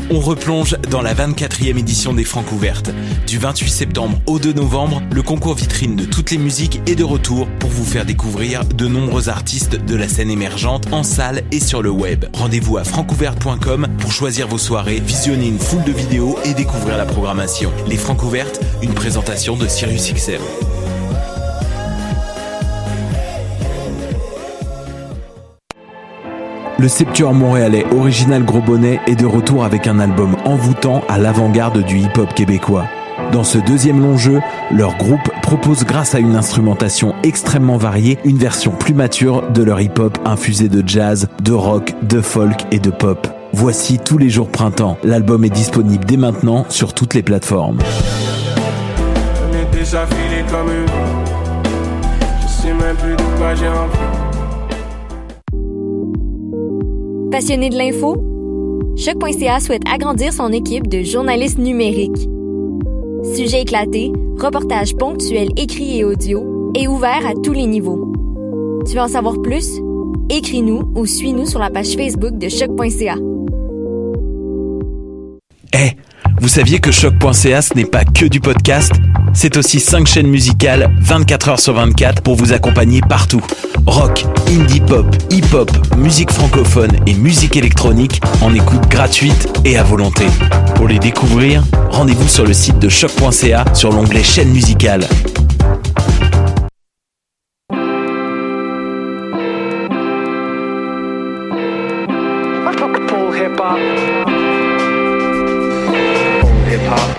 On replonge dans la 24e édition des Francouvertes. Du 28 septembre au 2 novembre, le concours vitrine de toutes les musiques est de retour pour vous faire découvrir de nombreux artistes de la scène émergente en salle et sur le web. Rendez-vous à francouverte.com pour choisir vos soirées, visionner une foule de vidéos et découvrir la programmation. Les Francouvertes, une présentation de SiriusXM. Le septuor montréalais Original Gros Bonnet est de retour avec un album envoûtant à l'avant-garde du hip-hop québécois. Dans ce deuxième long jeu, leur groupe propose grâce à une instrumentation extrêmement variée, une version plus mature de leur hip-hop infusé de jazz, de rock, de folk et de pop. Voici Tous les jours printemps. L'album est disponible dès maintenant sur toutes les plateformes. On est déjà filé comme une. Je sais même plus de quoi j'ai envie. Passionné de l'info? Choc.ca souhaite agrandir son équipe de journalistes numériques. Sujets éclatés, reportages ponctuels écrits et audio, et ouverts à tous les niveaux. Tu veux en savoir plus? Écris-nous ou suis-nous sur la page Facebook de Choc.ca. Hey, vous saviez que Choc.ca ce n'est pas que du podcast? C'est aussi 5 chaînes musicales 24 heures sur 24 pour vous accompagner partout. Rock, indie pop, hip-hop, musique francophone et musique électronique en écoute gratuite et à volonté. Pour les découvrir, rendez-vous sur le site de choc.ca sur l'onglet chaîne musicale. Full hip-hop. Full hip-hop.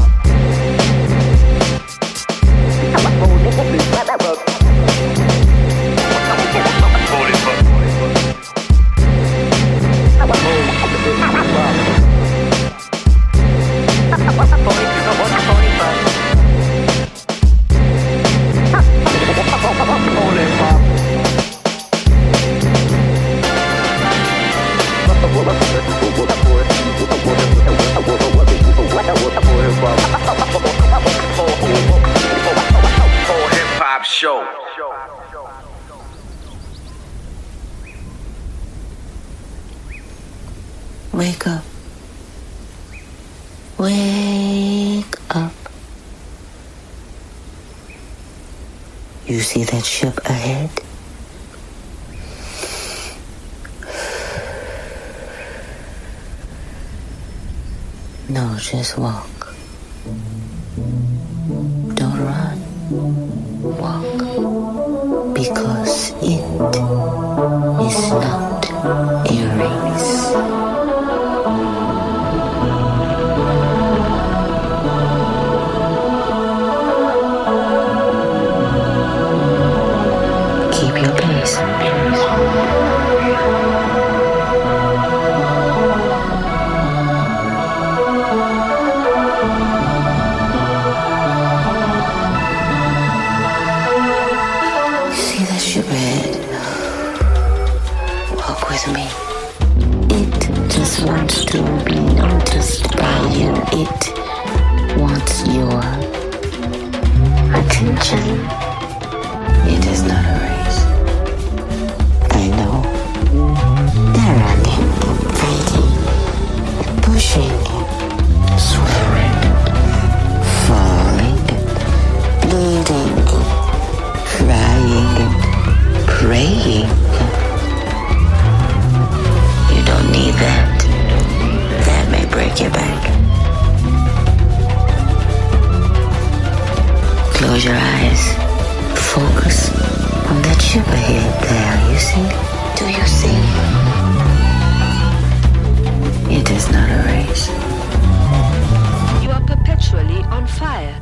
Show. Wake up. Wake up. You see that ship ahead? No, just walk. Don't run. Walk. Because it is not a race. Keep your pace. See that ship ahead? Walk with me. It just wants to be noticed by you. It wants your attention. It is not a race. I know. They're running, fighting, pushing, swearing, falling, bleeding, crying, praying. You don't need that. That may break your back. Close your eyes. Focus on that ship ahead there, you see? Do you see? It is not a race. You are perpetually on fire.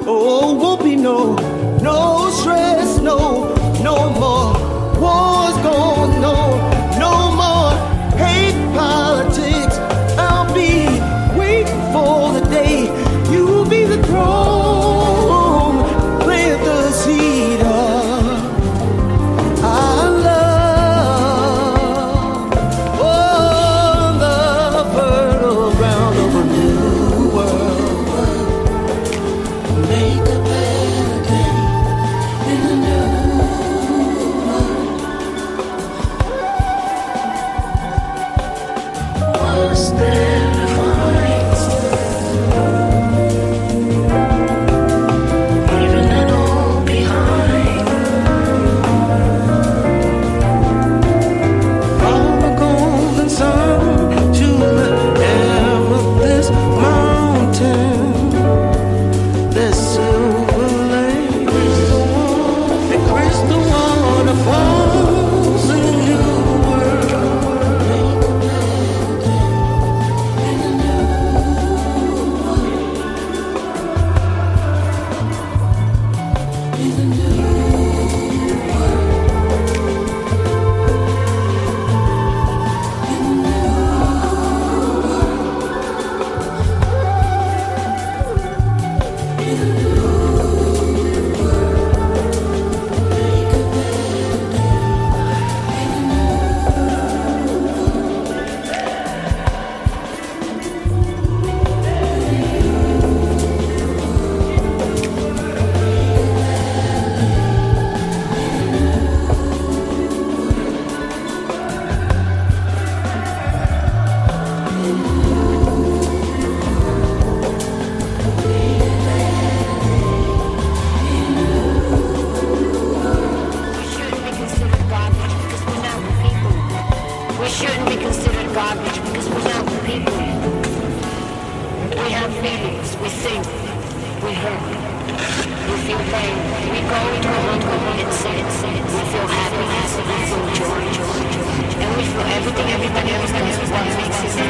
Oh, won't be no stress, no more wars going on, no more hate politics. I'll be waiting for the day you will be the throne, plant the seed of our love, oh, the fertile ground of a new world. Make a better day in a new world. Was there a fight? Leaving it all behind. From the golden sun to the effortless mountain, there's silver lakes and crystal waterfalls in a new world. Make a better day in a new world. In a new world. We shouldn't be considered garbage because we're not the people. We have feelings, we think, we hurt, we feel pain. We go into a home and say, we feel happiness, we feel joy, and we feel everything everybody else does is what makes us.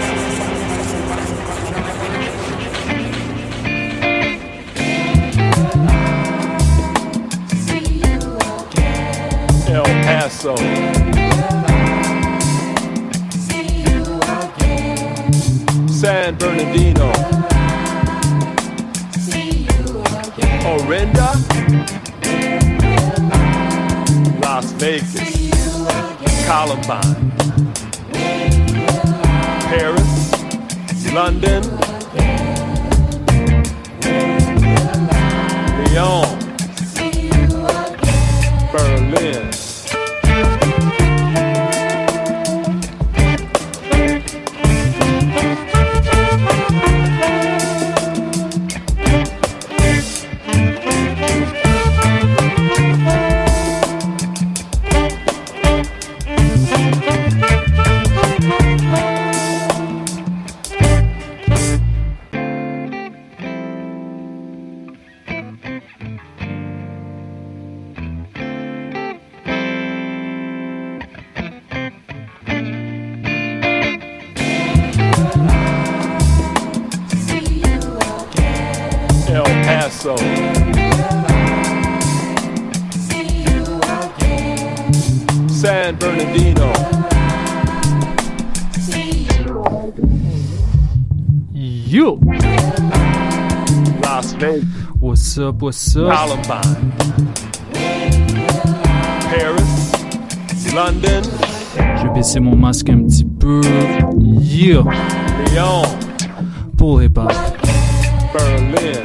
El Paso, San Bernardino, Orinda, Las Vegas, Columbine, Paris, London, Lyon, Berlin. El Paso, San Bernardino, Yo! Las Vegas, What's up, what's up? Columbine, Paris, London, Je vais baisser mon masque un petit peu. Yeah! Lyon, Pour les pas. Berlin.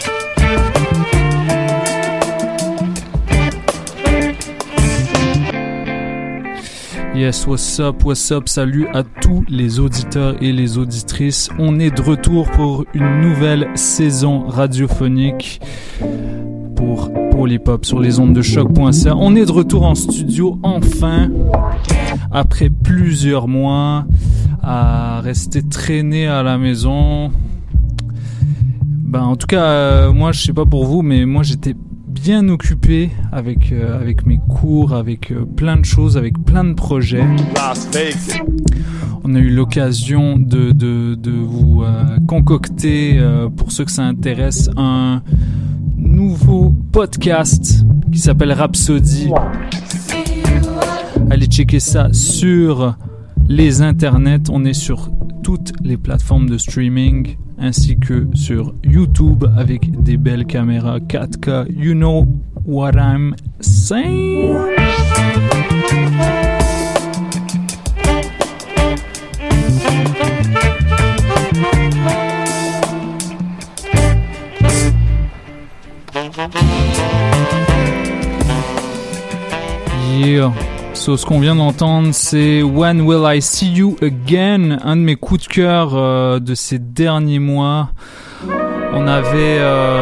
Yes, what's up, salut à tous les auditeurs et les auditrices. On est de retour pour une nouvelle saison radiophonique pour Polypop sur les ondes de choc.ca. On est de retour en studio enfin, après plusieurs mois à rester traîné à la maison. Ben, en tout cas, moi, je sais pas pour vous, mais moi, j'étais bien occupé avec mes cours, avec plein de choses, avec plein de projets. On a eu l'occasion de vous concocter, pour ceux que ça intéresse, un nouveau podcast qui s'appelle Rhapsody. Allez checker ça sur les internets. On est sur toutes les plateformes de streaming ainsi que sur YouTube avec des belles caméras 4K. You know what I'm saying? Yeah. So, ce qu'on vient d'entendre, c'est When Will I See You Again, un de mes coups de cœur de ces derniers mois. On avait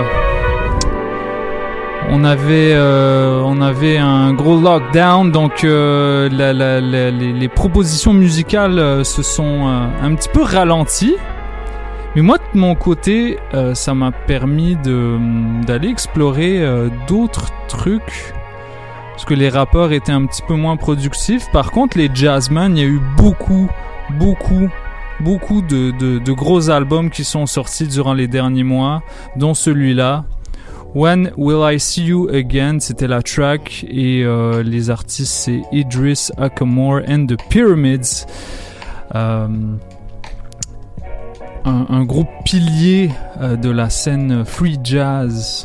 un gros lockdown, donc les propositions musicales se sont un petit peu ralenties. Mais moi, de mon côté, ça m'a permis d'aller explorer d'autres trucs. Parce que les rappeurs étaient un petit peu moins productifs. Par contre, les jazzmen, il y a eu beaucoup de gros albums qui sont sortis durant les derniers mois, dont celui-là. When Will I See You Again, c'était la track, et les artistes, c'est Idris Ackamore and the Pyramids. Un groupe pilier de la scène free jazz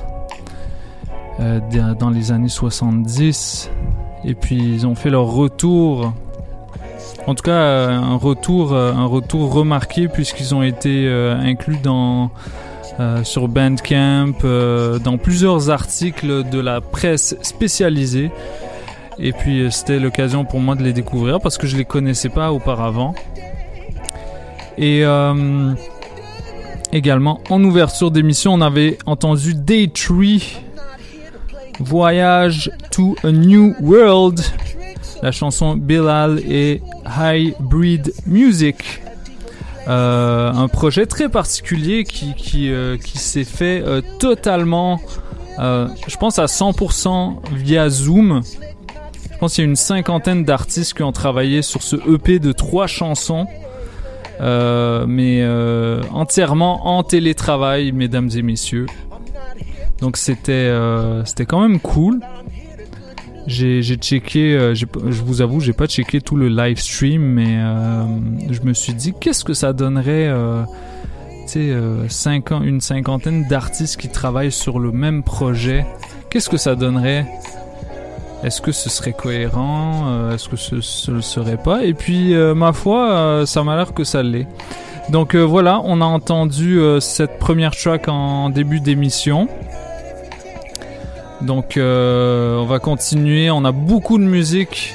dans les années 70, et puis ils ont fait leur retour, en tout cas un retour remarqué, puisqu'ils ont été inclus sur Bandcamp, dans plusieurs articles de la presse spécialisée, et puis c'était l'occasion pour moi de les découvrir parce que je les connaissais pas auparavant. Et également en ouverture d'émission, on avait entendu Day 3, Voyage to a New World, la chanson Bilal et Hybrid Music, un projet très particulier qui s'est fait totalement, je pense à 100% via Zoom. Je pense qu'il y a une 50aine d'artistes qui ont travaillé sur ce EP de 3 chansons, mais entièrement en télétravail, mesdames et messieurs. Donc c'était quand même cool. J'ai checké, je vous avoue, j'ai pas checké tout le live stream, mais je me suis dit qu'est-ce que ça donnerait, une 50aine d'artistes qui travaillent sur le même projet. Qu'est-ce que ça donnerait? Est-ce que ce serait cohérent? Est-ce que ce le serait pas? Et puis ma foi, ça m'a l'air que ça l'est. Donc voilà, on a entendu cette première track en début d'émission. Donc on va continuer, on a beaucoup de musique.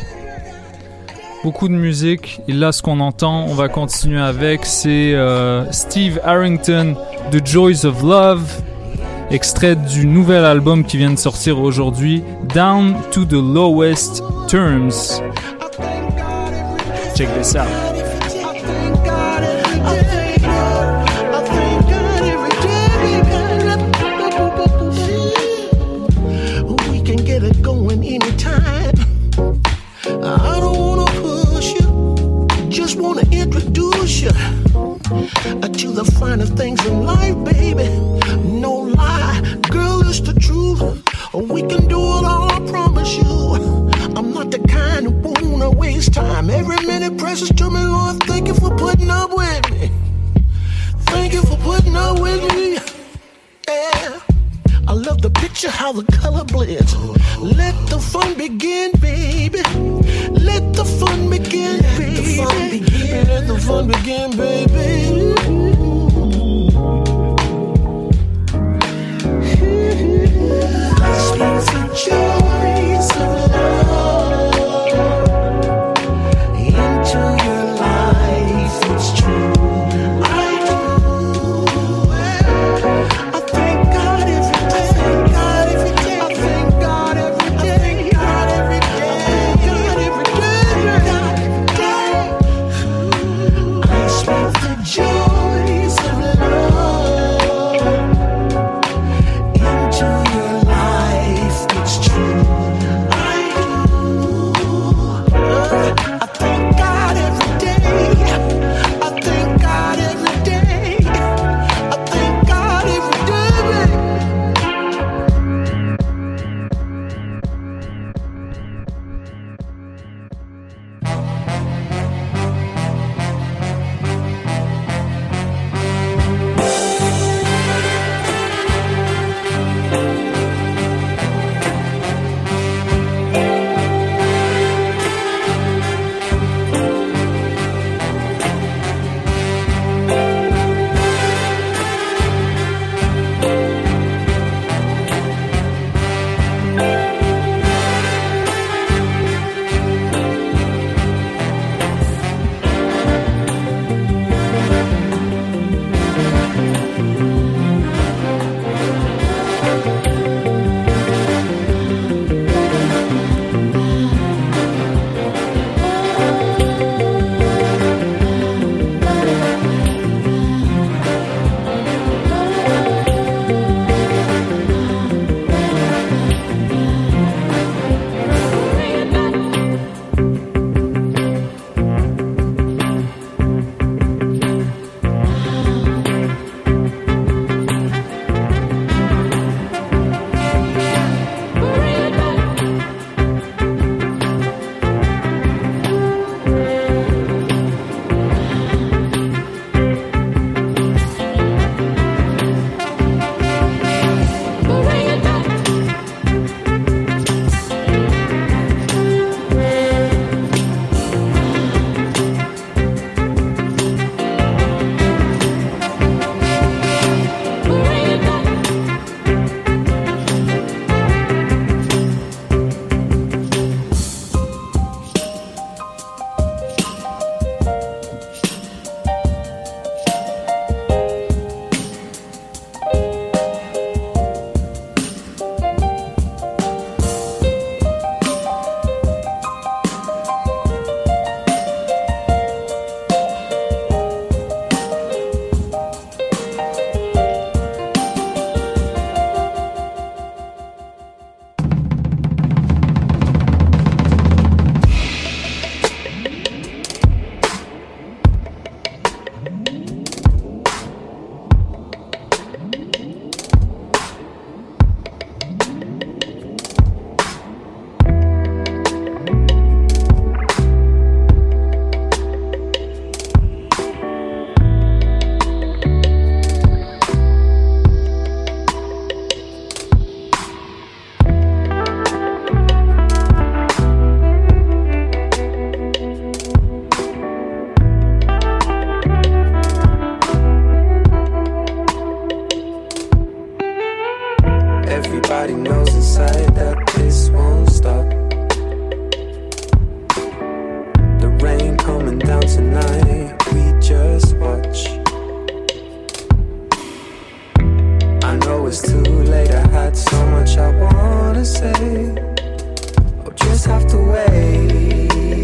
Et là ce qu'on entend, on va continuer avec, c'est Steve Harrington de Joys of Love, extrait du nouvel album qui vient de sortir aujourd'hui, Down to the Lowest Terms. Check this out. To the finer things in life, baby. No lie, girl, it's the truth. We can do it all, I promise you. I'm not the kind who wanna waste time. Every minute precious to me, Lord. Thank you for putting up with me. Thank you for putting up with me. Yeah. I love the picture, how the color blends. Let the fun begin, baby. Let the fun begin, baby. Let the fun begin, baby. Speak the joys of love into your life, it's true. I do. I thank God every day. I thank God every day. God every day. I speak the joy Everybody knows inside that this won't stop. The rain coming down tonight, we just watch. I know it's too late, I had so much I wanna say. I'll just have to wait.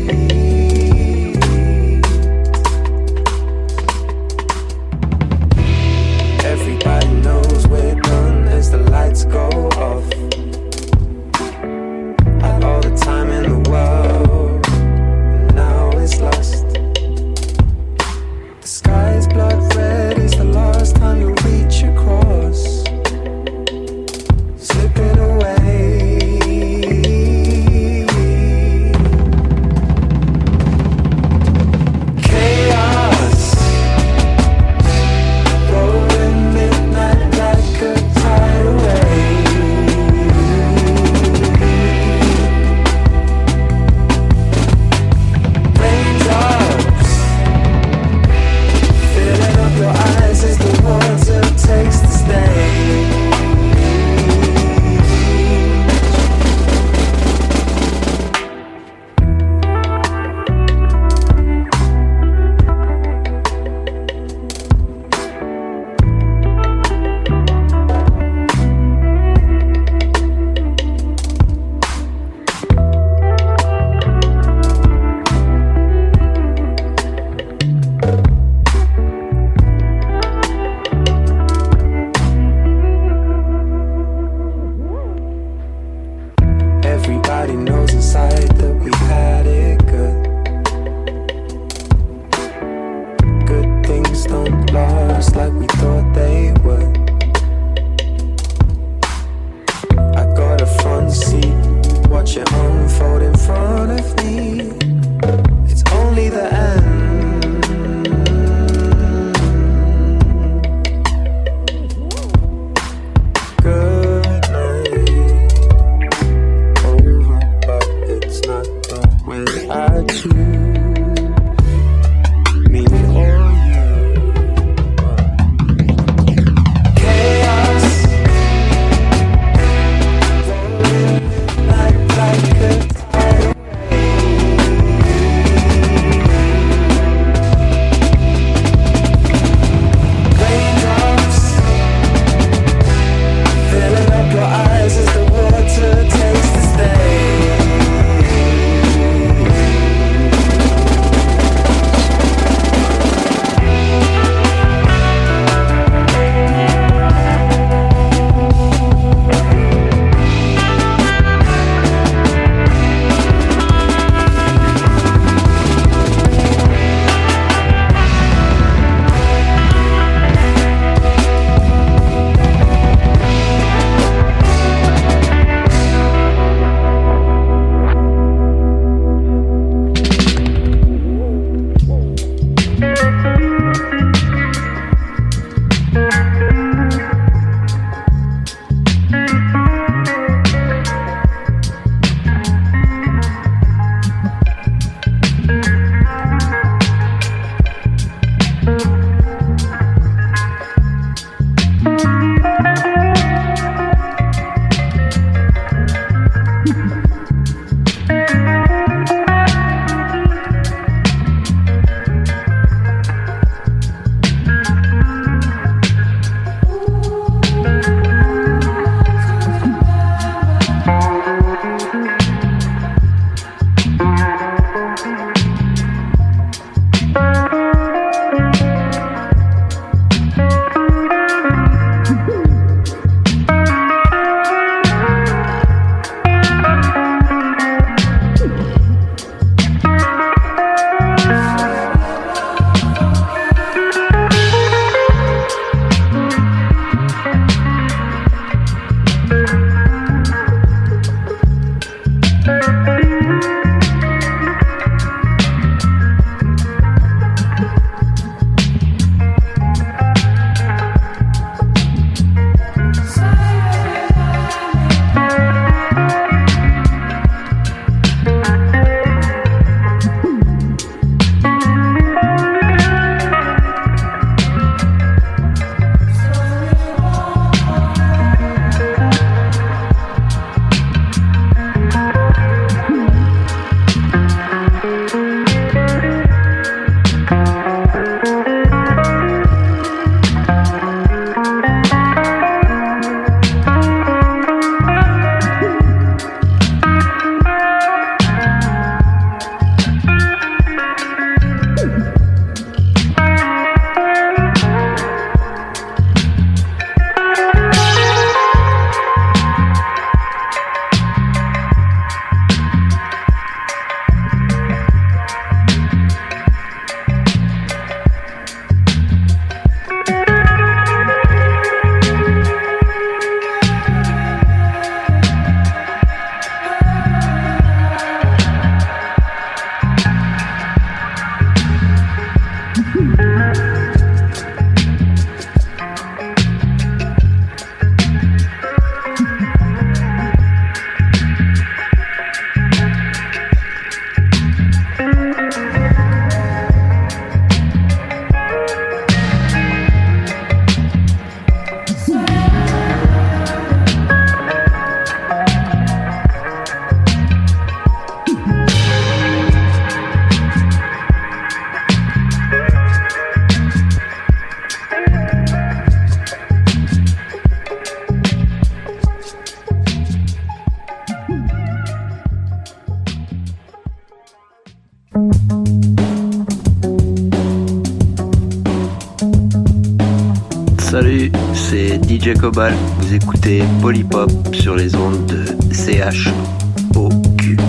Everybody knows we're done as the lights go off. I DJ Cobal, vous écoutez Polypop sur les ondes de CHOQ.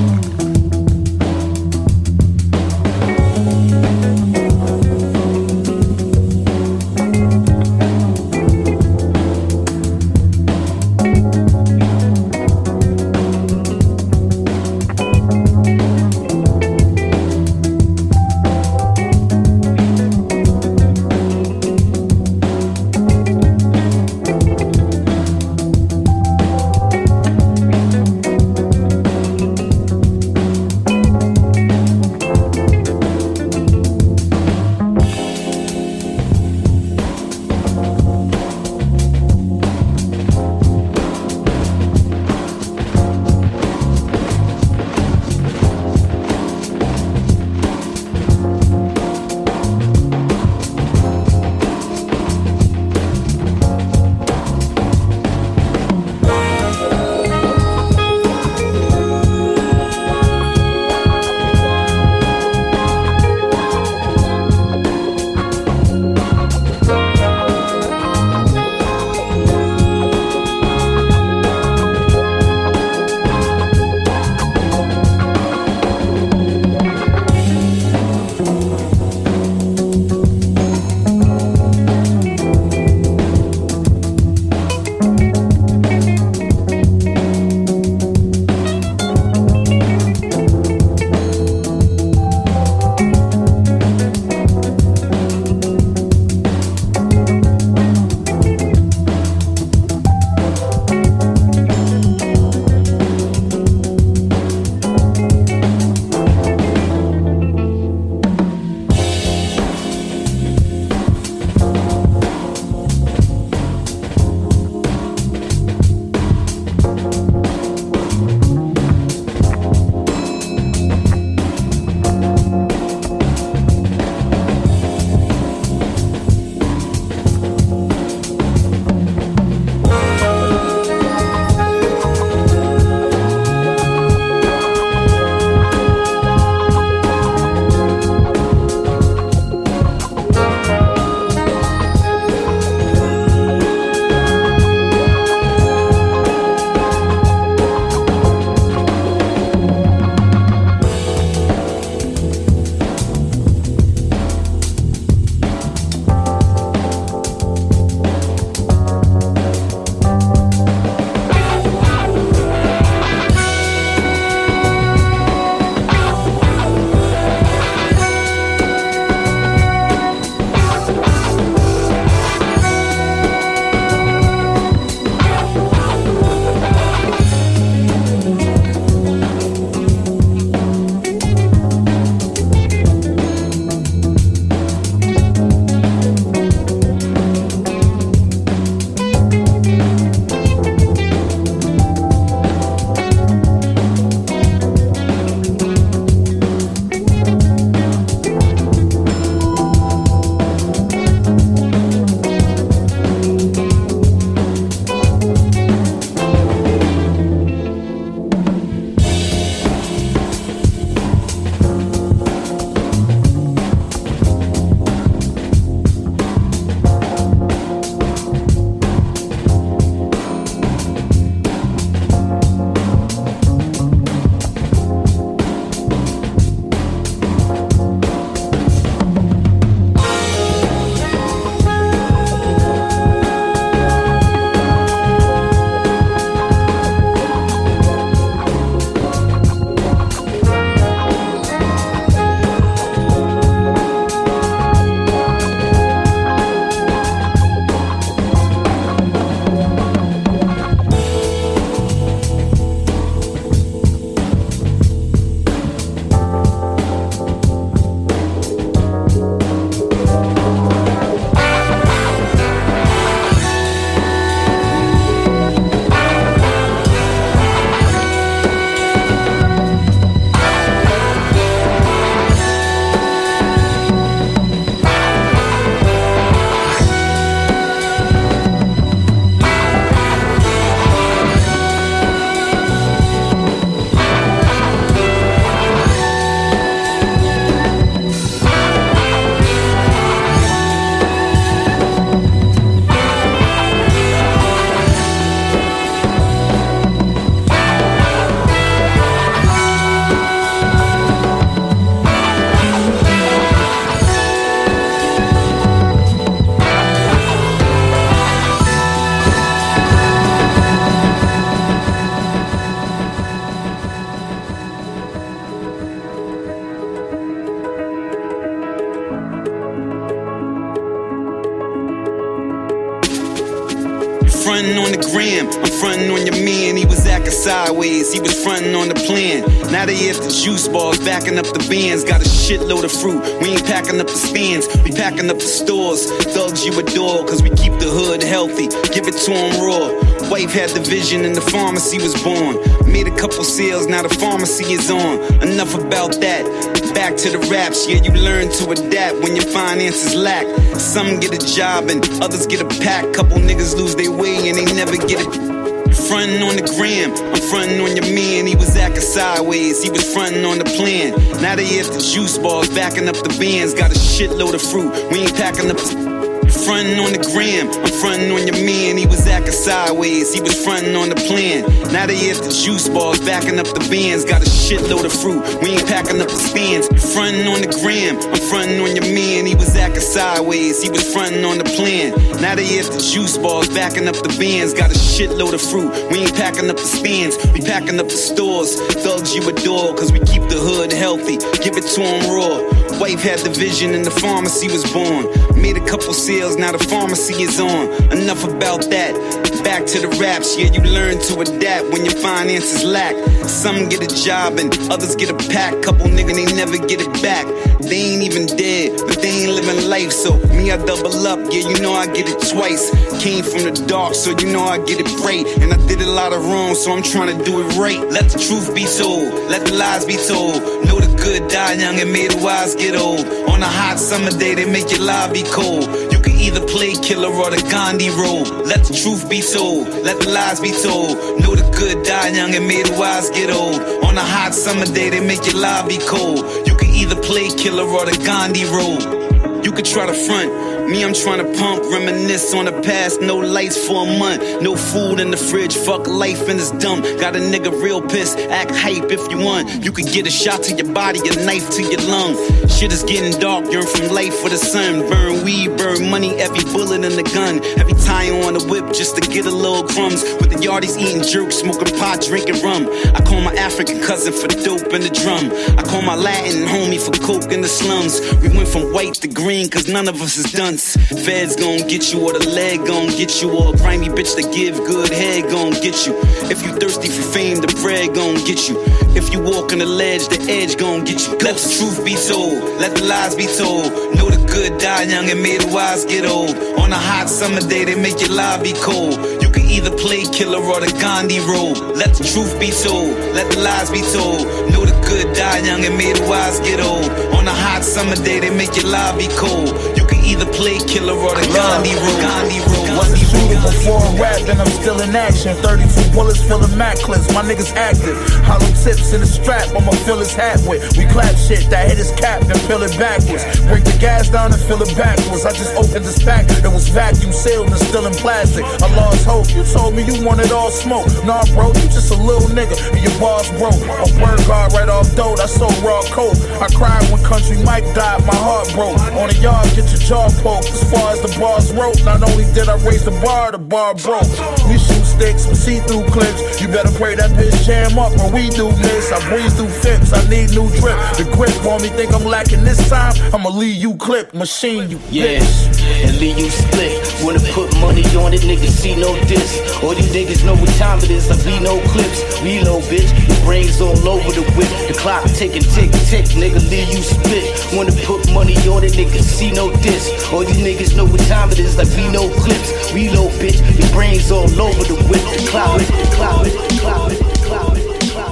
gram. I'm frontin' on your man, he was acting sideways. He was frontin' on the plan. Now they at the juice bars, backing up the bands. Got a shitload of fruit, we ain't packing up the stands. We packing up the stores, thugs you adore. Cause we keep the hood healthy, give it to him raw. Wife had the vision and the pharmacy was born. Made a couple sales, now the pharmacy is on. Enough about that, back to the raps. Yeah, you learn to adapt when your finances lack. Some get a job and others get a pack. Couple niggas lose their way and they never get it. Frontin' on the gram, I'm frontin' on your man. He was acting sideways, he was frontin' on the plan. Now they at the juice bars, backing up the bands. Got a shitload of fruit, we ain't packing up. Frontin' on the gram, I'm frontin' on your man. He was acting sideways, he was frontin' on the plan. Now they at the juice bars, backing up the bands. Got a shitload of fruit, we ain't packing up the stands. Frontin' on the gram, I'm frontin' on your man. He was acting sideways, he was frontin' on the plan. Now they at the juice bars, backing up the bands. Got a shitload of fruit, we ain't packing up the stands. We packing up the stores, thugs you adore. Cause we keep the hood healthy, give it to him raw. Wife had the vision and the pharmacy was born. Made a couple sales, now the pharmacy is on. Enough about that, back to the raps. Yeah, you learn to adapt when your finances lack. Some get a job and others get a pack. Couple niggas, they never get it back. They ain't even dead, but they ain't living life. So me, I double up, yeah, you know I get it twice. Came from the dark, so you know I get it right. And I did a lot of wrong, so I'm trying to do it right. Let the truth be told, let the lies be told. Know the good die young and may the wise get old. On a hot summer day, they make your life be cold. You can either play killer or the Gandhi role. Let the truth be told, let the lies be told. Know the good die young and may the wise get old. On a hot summer day, they make your life be cold. You can either play killer or the Gandhi role. You could try to front, me I'm trying to pump, reminisce on the past. No lights for a month, no food in the fridge, fuck life and it's dumb. Got a nigga real pissed, act hype if you want. You could get a shot to your body, a knife to your lung. Shit is getting dark, yearn from light for the sun. Burn weed, burn money, every bullet in the gun. Every tire on the whip just to get a little crumbs. With the yardies eating jerk, smoking pot, drinking rum. I call my African cousin for dope and the drum. I call my Latin homie for coke in the slums. We went from white to green cause none of us is dunce. Feds gon' get you or the leg gon' get you. Or a grimy bitch that give good head gon' get you. If you thirsty for fame, the bread gon' get you. If you walk on the ledge, the edge gon' get you. Let the truth be told, let the lies be told. Know the good die young and may the wise get old. On a hot summer day, they make your life be cold. You can either play killer or the Gandhi role. Let the truth be told, let the lies be told. Know the good die young and may the wise get old. On a hot summer day, they make your life be cold. You can either play killer or the Gandhi role. Was a shooter before I rapped and I'm still in action. 32 bullets filling Mac clips, my niggas active. Hollow tips in the strap, I'ma fill his hat with. We clap shit that hit his cap, then peel it backwards. Break the gas down and fill it backwards. I just opened this pack that was vacuum sealed and still in plastic. I lost hope, you told me you wanted all smoke. Nah bro, you just a little nigga and your bars broke. On word guard right off dope, I sold raw coke. I cried when Country Mike died, my heart broke. On the yard, get your jaw poked. As far as the bars wrote, not only did I raise the bar broke. We shoot sticks with see-through clips. You better pray that bitch jam up when we do this. I breeze through fence, I need new drip. The grip on me think I'm lacking this time. I'ma leave you clip, machine you bitch. And leave you split. Wanna put money on it, niggas see no diss. All these niggas know what time it is, like we no clips. Reload bitch, the brains all over the whip. The clock ticking, tick, tick, nigga leave you split. Wanna put money on it, niggas see no diss. All these niggas know what time it is, like we no clips. Reload bitch, the brains all over the whip. The clock, the clock, the clock, the clock, the clock.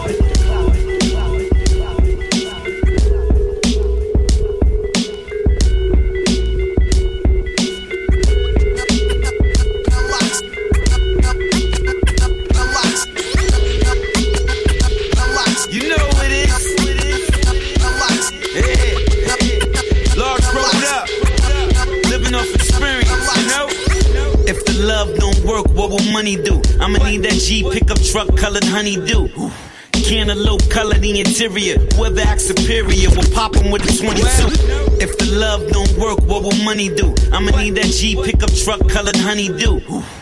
What will money do? I'ma need that G pickup truck colored honeydew. Cantaloupe colored the interior. Whoever acts superior will pop him with a 22. If the love don't work, what will money do? I'ma need that G pickup truck colored honeydew.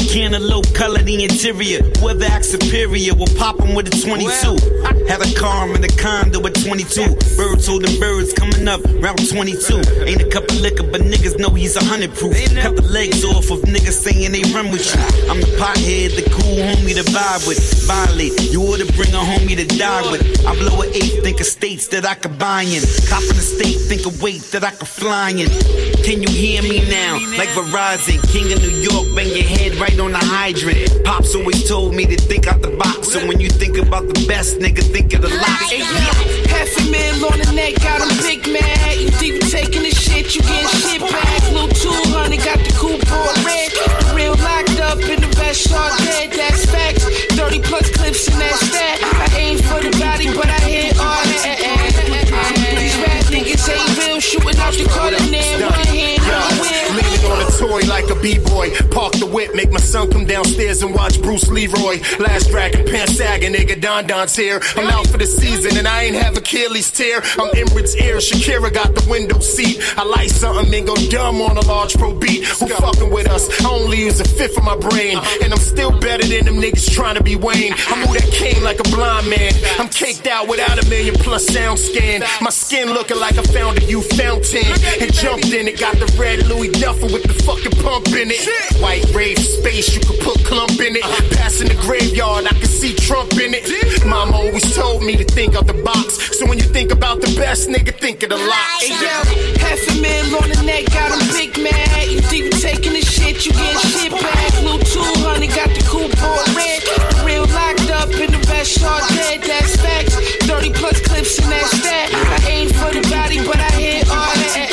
Cantaloupe color the interior. Whoever acts superior will pop him with a 22. Had a car and a condo at 22. Birds holding birds coming up round 22. Ain't a cup of liquor, but niggas know he's 100 proof. Cut the legs off of niggas saying they run with you. I'm the pothead, the cool homie to vibe with. Violate, you ought to bring a homie to die with. I blow an eighth, think of states that I could buy in. Cop in the state, think of weight that I could fly in. Can you hear me now? Like Verizon, King of New York, bang your head right on the hydrant. Pops always told me to think out the box. So when you think about the best, nigga, think of the lot. Hey, $500,000 on the neck, got him big mad. You think you taking the shit, you getting shit back. Little 200, got the coupe on red. The real locked up in the vest, all dead, that's facts. 30 plus clips in that stat. I aim for the body, but I hit all that. These rap niggas ain't real, shooting out the corner there. One hand on the wheel. Leaning on a toy like a b-boy. Park the whip, make my son come downstairs and watch Bruce Leroy. Last Dragon, pants sagging, nigga, Don's here. I'm out for the season and I ain't have Achilles tear. I'm Emirates ear, Shakira got the window seat. I like something and go dumb on a large pro beat. Who fucking with us? I only use a fifth of my brain. And I'm still better than them niggas trying to be Wayne. I move that cane like a blind man. I'm caked out without $1 million plus sound scan. My skin looking like I found a youth fountain. And jumped in it, got the red Louis Duffel with the fucking pump in it. White rave space, you could put clump in it. Passing the graveyard, I can see Trump in it. Mama always told me to think out the box. So when you think about the best, nigga, think of the lot. Hey yo, $500,000 on the neck, got him big mad. You think you taking the shit, you getting shit back. Little 200, got the coupe on red. The real locked up in the vest, all dead, that's facts. 30 plus clips in that stat. I aim for the body, but I hit all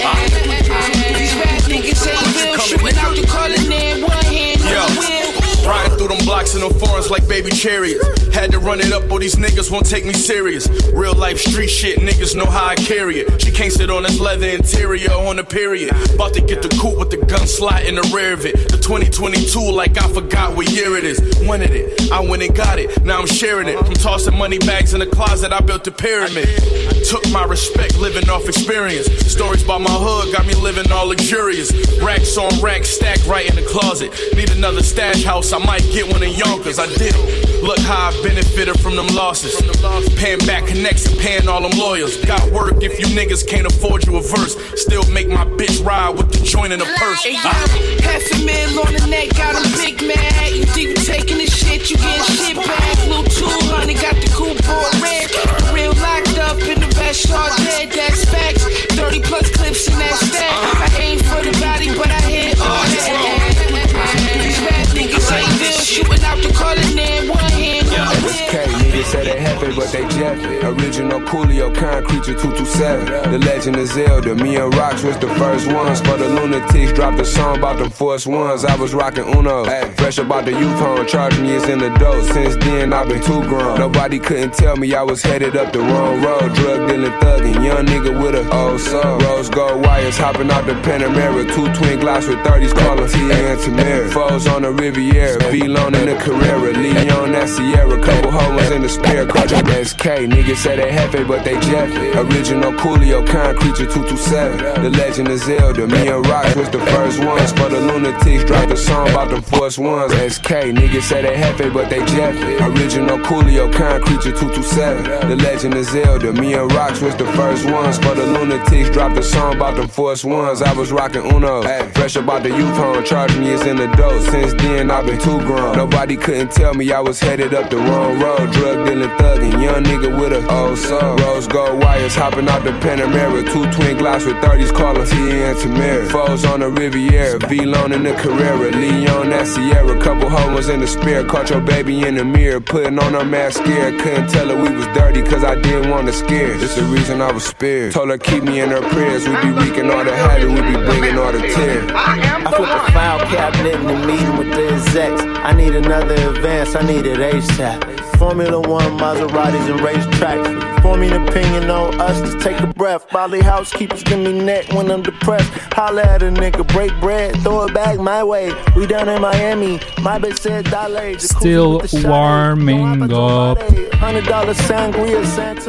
that. These rap niggas ain't real, shooting out the corner there. One hand on the wheel. Riding through them blocks in them foreigns like baby chariots. Had to run it up or these niggas won't take me serious. Real life street shit, niggas know how I carry it. She can't sit on this leather interior on the period. About to get the coupe with the gun slot in the rear of it. The 2022 like I forgot what year it is. Wanted it, I went and got it, now I'm sharing it. From tossing money bags in the closet, I built the pyramid. Took my respect, living off experience. Stories about my hood got me living all luxurious. Racks on racks stacked right in the closet. Need another stash house, I might get one in Yonkers, I did it. Look how I benefited from them losses. Paying back connects and paying all them lawyers. Got work if you niggas can't afford you a verse. Still make my bitch ride with the joint in the purse. Hey, $500,000 on the neck, got him big mad. You think you taking the shit, you getting shit back. Little 200, got the coupe on red. The real locked up in the vest, all dead, that's facts. 30 plus clips in that stack. I aim for the body, but I hit all that. These rap niggas ain't real, shooting out the corner there. One hand on the wheel. Niggas say they happy, but they Jeffy. Original Coolio, kind creature 227. The legend of Zelda. Me and Rocks was the first ones. For the lunatics, dropped a song about them force ones. I was rocking Uno. Fresh about the youth home, charged me as an adult. Since then, I've been too grown. Nobody couldn't tell me I was headed up the wrong road. Drug dealing, thugging, young nigga with a old soul. Rose gold wires, hopping out the Panamera. 2 twin Glocks with 30s, calling T and Tamara. Foes on the Riviera, V-Lone in the Carrera. Leon, that Sierra, couple hoes in the spare car. SK, niggas say they happy, but they Jeffy. Original Coolio, kind creature 227. The legend of Zelda. Me and Rocks was the first ones. For the lunatics, dropped a song about them force ones. SK, niggas say they happy, but they Jeffy. Original Coolio, kind creature 227. The legend of Zelda. Me and Rocks was the first ones. For the lunatics, dropped a song about them force ones. I was rocking Uno. Fresh about the youth home, charged me as an adult. Since then, I've been too grown. Nobody couldn't tell me I was headed up the wrong road. Drug dealing, thugging, young nigga with a old soul. Rose gold wires, hopping out the Panamera. 2 twin Glocks with 30s, calling T and Tamara. Foes on the Riviera, V-Lone in the Carrera. Leon, that Sierra, couple hoes in the spare. Caught your baby in the mirror, putting on her mascara. Couldn't tell her we was dirty, cause I didn't want to scare. It's the reason I was spared. Told her keep me in her prayers. We be wreaking all the havoc, we be bringing all the tears. I flip a file cabinet in the meeting with the execs. I need another advance, I need it ASAP. Formula One, Maseratis and racetracks. Forming an opinion on us to take a breath. Bali housekeepers give me neck when I'm depressed. Holla at a nigga, break bread, throw it back my way. We down in Miami, my bitch said dilate. Still warming up. $100 sangria, Santa Maria.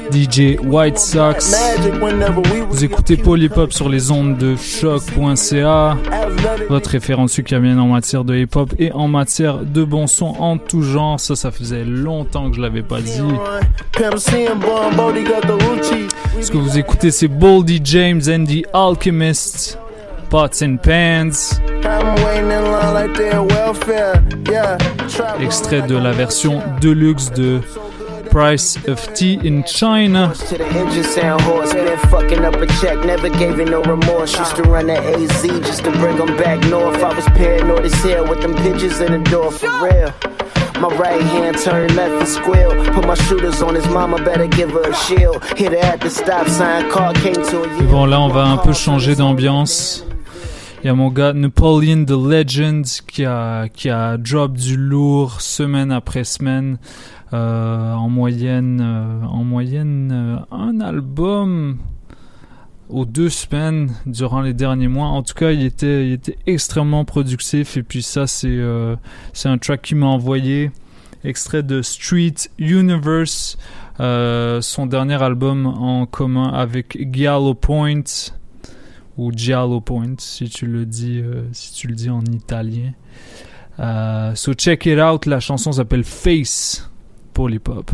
DJ White Sox. Vous écoutez Polypop sur les ondes de choc.ca, votre référence sucamienne en matière de hip-hop et en matière de bon son en tout genre. Ça faisait longtemps que je l'avais pas dit. Ce que vous écoutez, c'est Boldy James and the Alchemist, Pots and Pans. Extrait de la version deluxe de Price of Tea in China. To the engine sound horse, been fucking up a check, never gave it no remorse. Used to run the AZ just to bring them back north. I was paranoid as hell with them pigeons in the door, for real. My right hand turned left and squeal. Put my shooters on his mama, better give her a shield. Hit her at the stop sign, car came to a... Bon, là on va un peu changer d'ambiance. Il y a mon gars Napoleon the Legend qui a drop du lourd semaine après semaine. En moyenne un album aux 2 semaines durant les derniers mois. En tout cas, il était extrêmement productif. Et puis ça, c'est un track qu'il m'a envoyé, extrait de Street Universe, son dernier album en commun avec Giallo Point, ou Giallo Point si tu le dis en italien. So check it out. La chanson s'appelle Face. Polypop.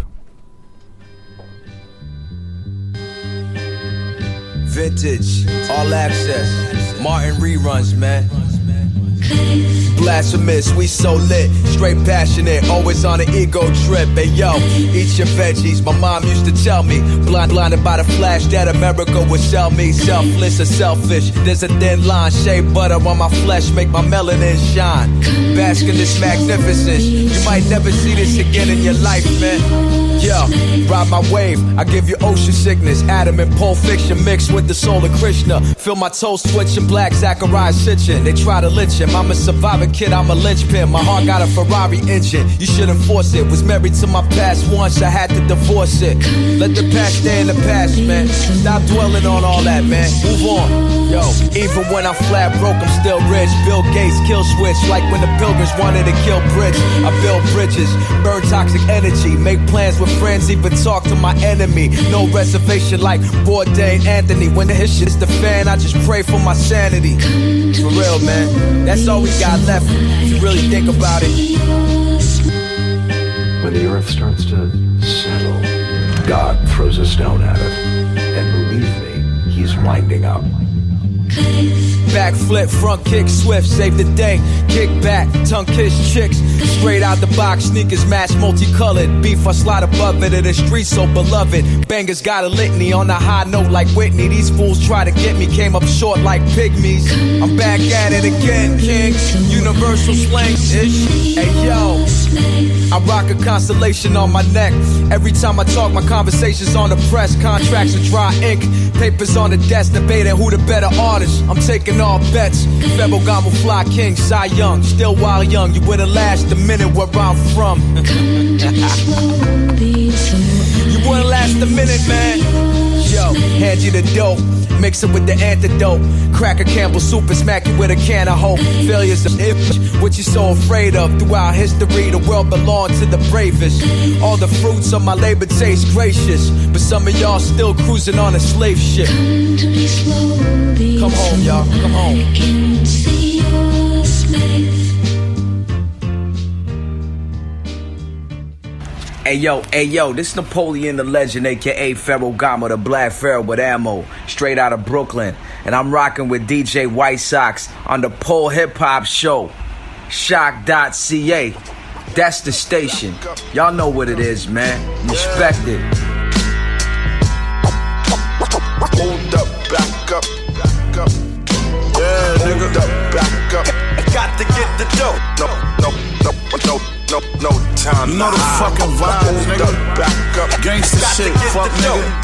Vintage, all access, Martin reruns, man. Blasphemous, we so lit, straight passionate, always on an ego trip. Hey yo, eat your veggies. My mom used to tell me, blinded by the flash that America would sell me. Selfless or selfish, there's a thin line. Shea butter on my flesh, make my melanin shine. Bask in this magnificence, you might never see this again in your life, man. Yo, ride my wave, I give you ocean sickness. Adam and Pulp Fiction mixed with the soul of Krishna. Feel my toes twitching, black Zachariah Sitchin. They try to lynch him, I'm a survivor kid, I'm a linchpin. My heart got a Ferrari engine, you shouldn't force it. Was married to my past once, I had to divorce it. Let the past stay in the past, man. Stop dwelling on all that, man. Move on. Yo, even when I'm flat broke, I'm still rich. Bill Gates kill switch, like when the Pilgrims wanted to kill Bridge. I build bridges, burn toxic energy, make plans with friends, even talk to my enemy. No reservation like Bourdain Anthony. When the shit's the fan, I just pray for my sanity. For real, man, that's all we got left, if you really think about it. When the earth starts to settle, God throws a stone at it. And believe me, he's winding up. Backflip, front kick, swift, save the day. Kick back, tongue kiss chicks. Straight out the box, sneakers match multicolored. Beef, I slide above it in the street so beloved. Bangers got a litany on a high note like Whitney. These fools try to get me, came up short like pygmies. I'm back at it again, king. Universal slang-ish. Hey yo, I rock a constellation on my neck. Every time I talk, my conversations on the press. Contracts are dry ink. Papers on the desk, debating who the better artist. I'm taking all bets. Ferragamo, Fly King, Cy Young. Still wild young, you wouldn't last a minute where I'm from. You wouldn't last a minute, man. Yo, hand you the dope, mix it with the antidote. Crack a Campbell soup and smack you with a can of hope. Failure's the if, what you so afraid of. Throughout history, the world belonged to the bravest. All the fruits of my labor taste gracious, but some of y'all still cruising on a slave ship. Come home, y'all, come home. Hey yo, this Napoleon the Legend, aka Ferragamo, the Black Pharaoh with ammo, straight out of Brooklyn. And I'm rocking with DJ White Sox on the Pole Hip Hop Show, shock.ca. That's the station. Y'all know what it is, man. Respect it. Hold up, back up, back up. Yeah, nigga. Hold up, back up. Got to get the dough. No time. You know the fucking vibes, nigga. Back up. Gangsta shit, fuck nigga.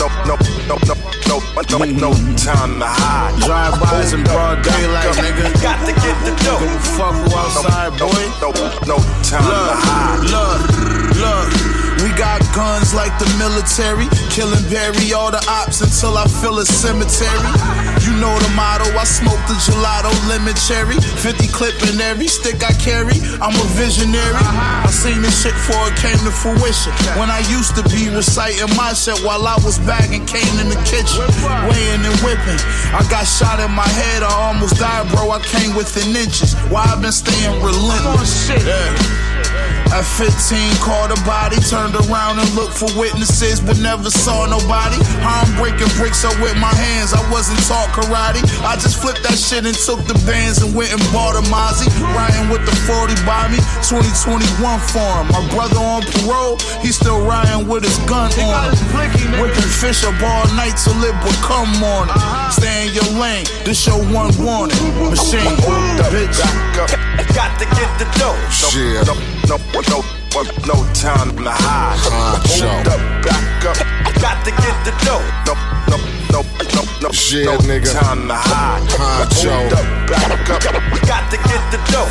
No time to hide. Drive-bys in broad daylight, nigga. Got to get the dough. Give a fuck who outside, boy. No time to hide. Look, we got guns like the military. Killing bury all the ops until I fill a cemetery. You know the motto, I smoke the gelato, lemon cherry. 50 clip in every stick I carry. I'm a visionary. I seen this shit before it came to fruition. When I used to be reciting my shit while I was bagging cane in the kitchen, weighing and whipping. I got shot in my head, I almost died, bro. I came within inches. Why I've been staying relentless. Yeah. At 15, caught a body, turned around and looked for witnesses, but never saw nobody. I'm breaking bricks up with my hands, I wasn't taught karate. I just flipped that shit and took the bands and went and bought a Mozzie. Riding with the 40 by me, 2021 for him. My brother on parole, he's still riding with his gun on him. Whipping fish up all night till it become morning. Stay in your lane, this your one warning. Machine, bitch. Got to get the dough. Shit. No time to hide. Hold up, back up. Got to get the dough. No nigga. Time to hide. Hold up, back up. Got to get the dough.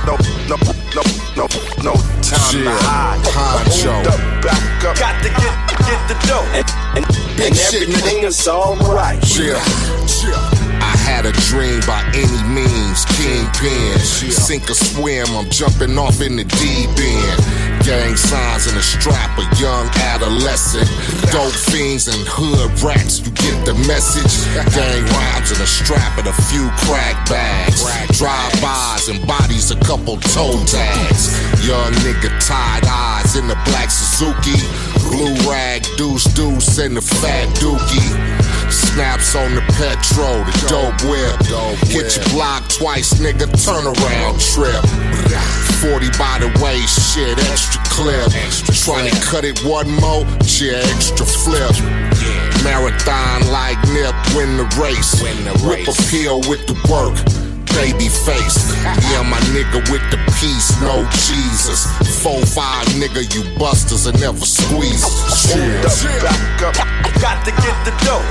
No time to hide. Hold up, back up. Got to get the dough. And everything is alright. I had a dream by any means, kingpin. Sink or swim, I'm jumping off in the deep end. Gang signs in a strap, a young adolescent. Dope fiends and hood rats, you get the message. Gang rhymes in a strap and a few crack bags. Drive-bys and bodies, a couple toe tags. Young nigga tied eyes in the black Suzuki. Blue rag, deuce and the fat dookie. Snaps on the petrol, the dope whip. Hit your block twice, nigga, turn around trip. 40 by the way, shit, extra clip. Trying to cut it one more, yeah, extra flip. Marathon like Nip, win the race. Whip a pill with the work. Baby face, yeah, my nigga with the peace, no Jesus. 4-5 nigga, you busters and never squeeze. Hold up, back up, got to get the dough.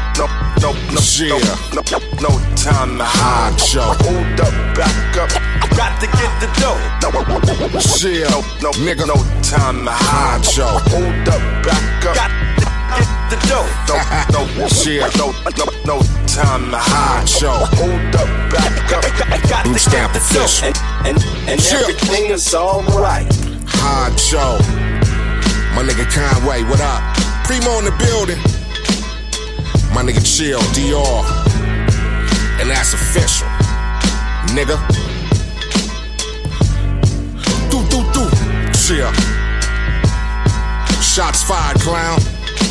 No time to hide. Hold up, back up, got to get the dough. No time to hide. Hold up, back up, got to get the dough. No time to hide. Hold up, back up, got to get the dough. And everything is alright. Hard show. My nigga Conway, what up? Primo in the building. My nigga Chill, DR. And that's official. Nigga. Do. Chill. Shots fired, clown.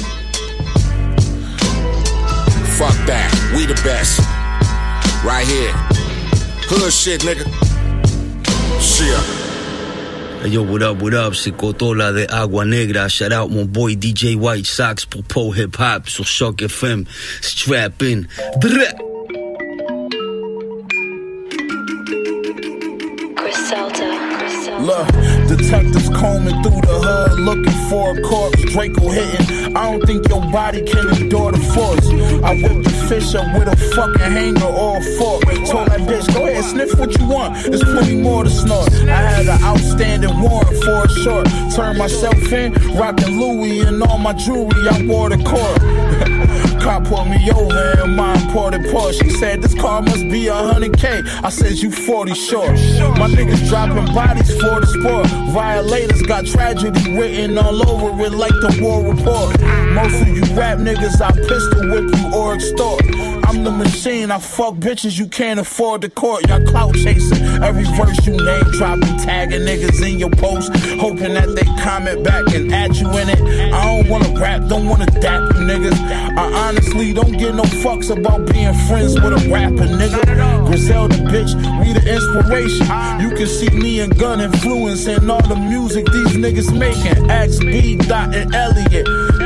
Fuck that. We the best. Right here. Hood shit, nigga. Chill. Hey yo, what up, c'est Cotola de Agua Negra. Shout out mon boy DJ White Sox pour Pro Hip Hop sur Choc FM. Strap in. Look, detectives combing through the hood, looking for a corpse. Draco hitting. I don't think your body can endure the force. I whipped the fish up with a fucking hanger or a fork. Told that bitch, go ahead, sniff what you want. There's plenty more to snort. I had an outstanding warrant for a short. Turned myself in, rocking Louis and all my jewelry. I wore the court. Cop pulled me over in my imported Porsche. She said this car must be 100K. I said you 40 short. My niggas dropping bodies for the sport. Violators got tragedy written all over it like the war report. Most of you rap niggas, I pistol whip you or extort. I'm the machine, I fuck bitches, you can't afford the court. Y'all clout chasing, every verse you name dropping, tagging niggas in your post, hoping that they comment back and add you in it. I don't wanna rap, don't wanna dap you niggas. I honestly don't give no fucks about being friends with a rapper, nigga. Griselda bitch, we the inspiration. You can see me and Gun influencing all the music these niggas making. Ask B. Dot and Elliot, they will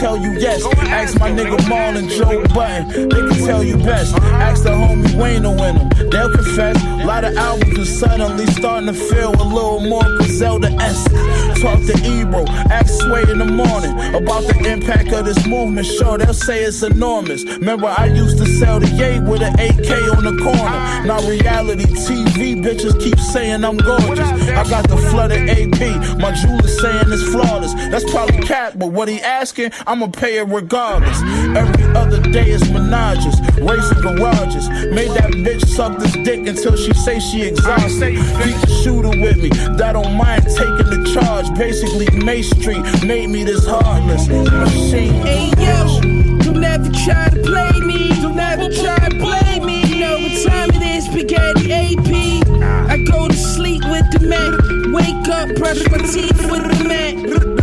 tell you yes. Ask my nigga Maul and Joe Button, they can tell you best. Ask the homie Wayne in them, they'll confess. A lot of albums are suddenly starting to feel a little more Griselda-esque. Talk to Ebro, ask Sway in the morning about the impact of this movement. Sure, they'll say it's enormous. Remember, I used to sell the Ye with an AK on the corner. Now reality TV bitches keep saying I'm gorgeous. I got the flooded AP, my jeweler saying it's flawless. That's probably cap, but what he asking, I'ma pay it regardless. Every other day is menages, racing garages. Made that bitch suck this dick until she say she exhausted. Keep the shooter with me, that don't mind taking the charge. Basically, May Street made me this heartless machine. Hey yo, don't ever try to play me. Don't ever try to play me. You know what time it is, Spaghetti AP. I go to sleep with the Mac, wake up, brush my teeth with the Mac.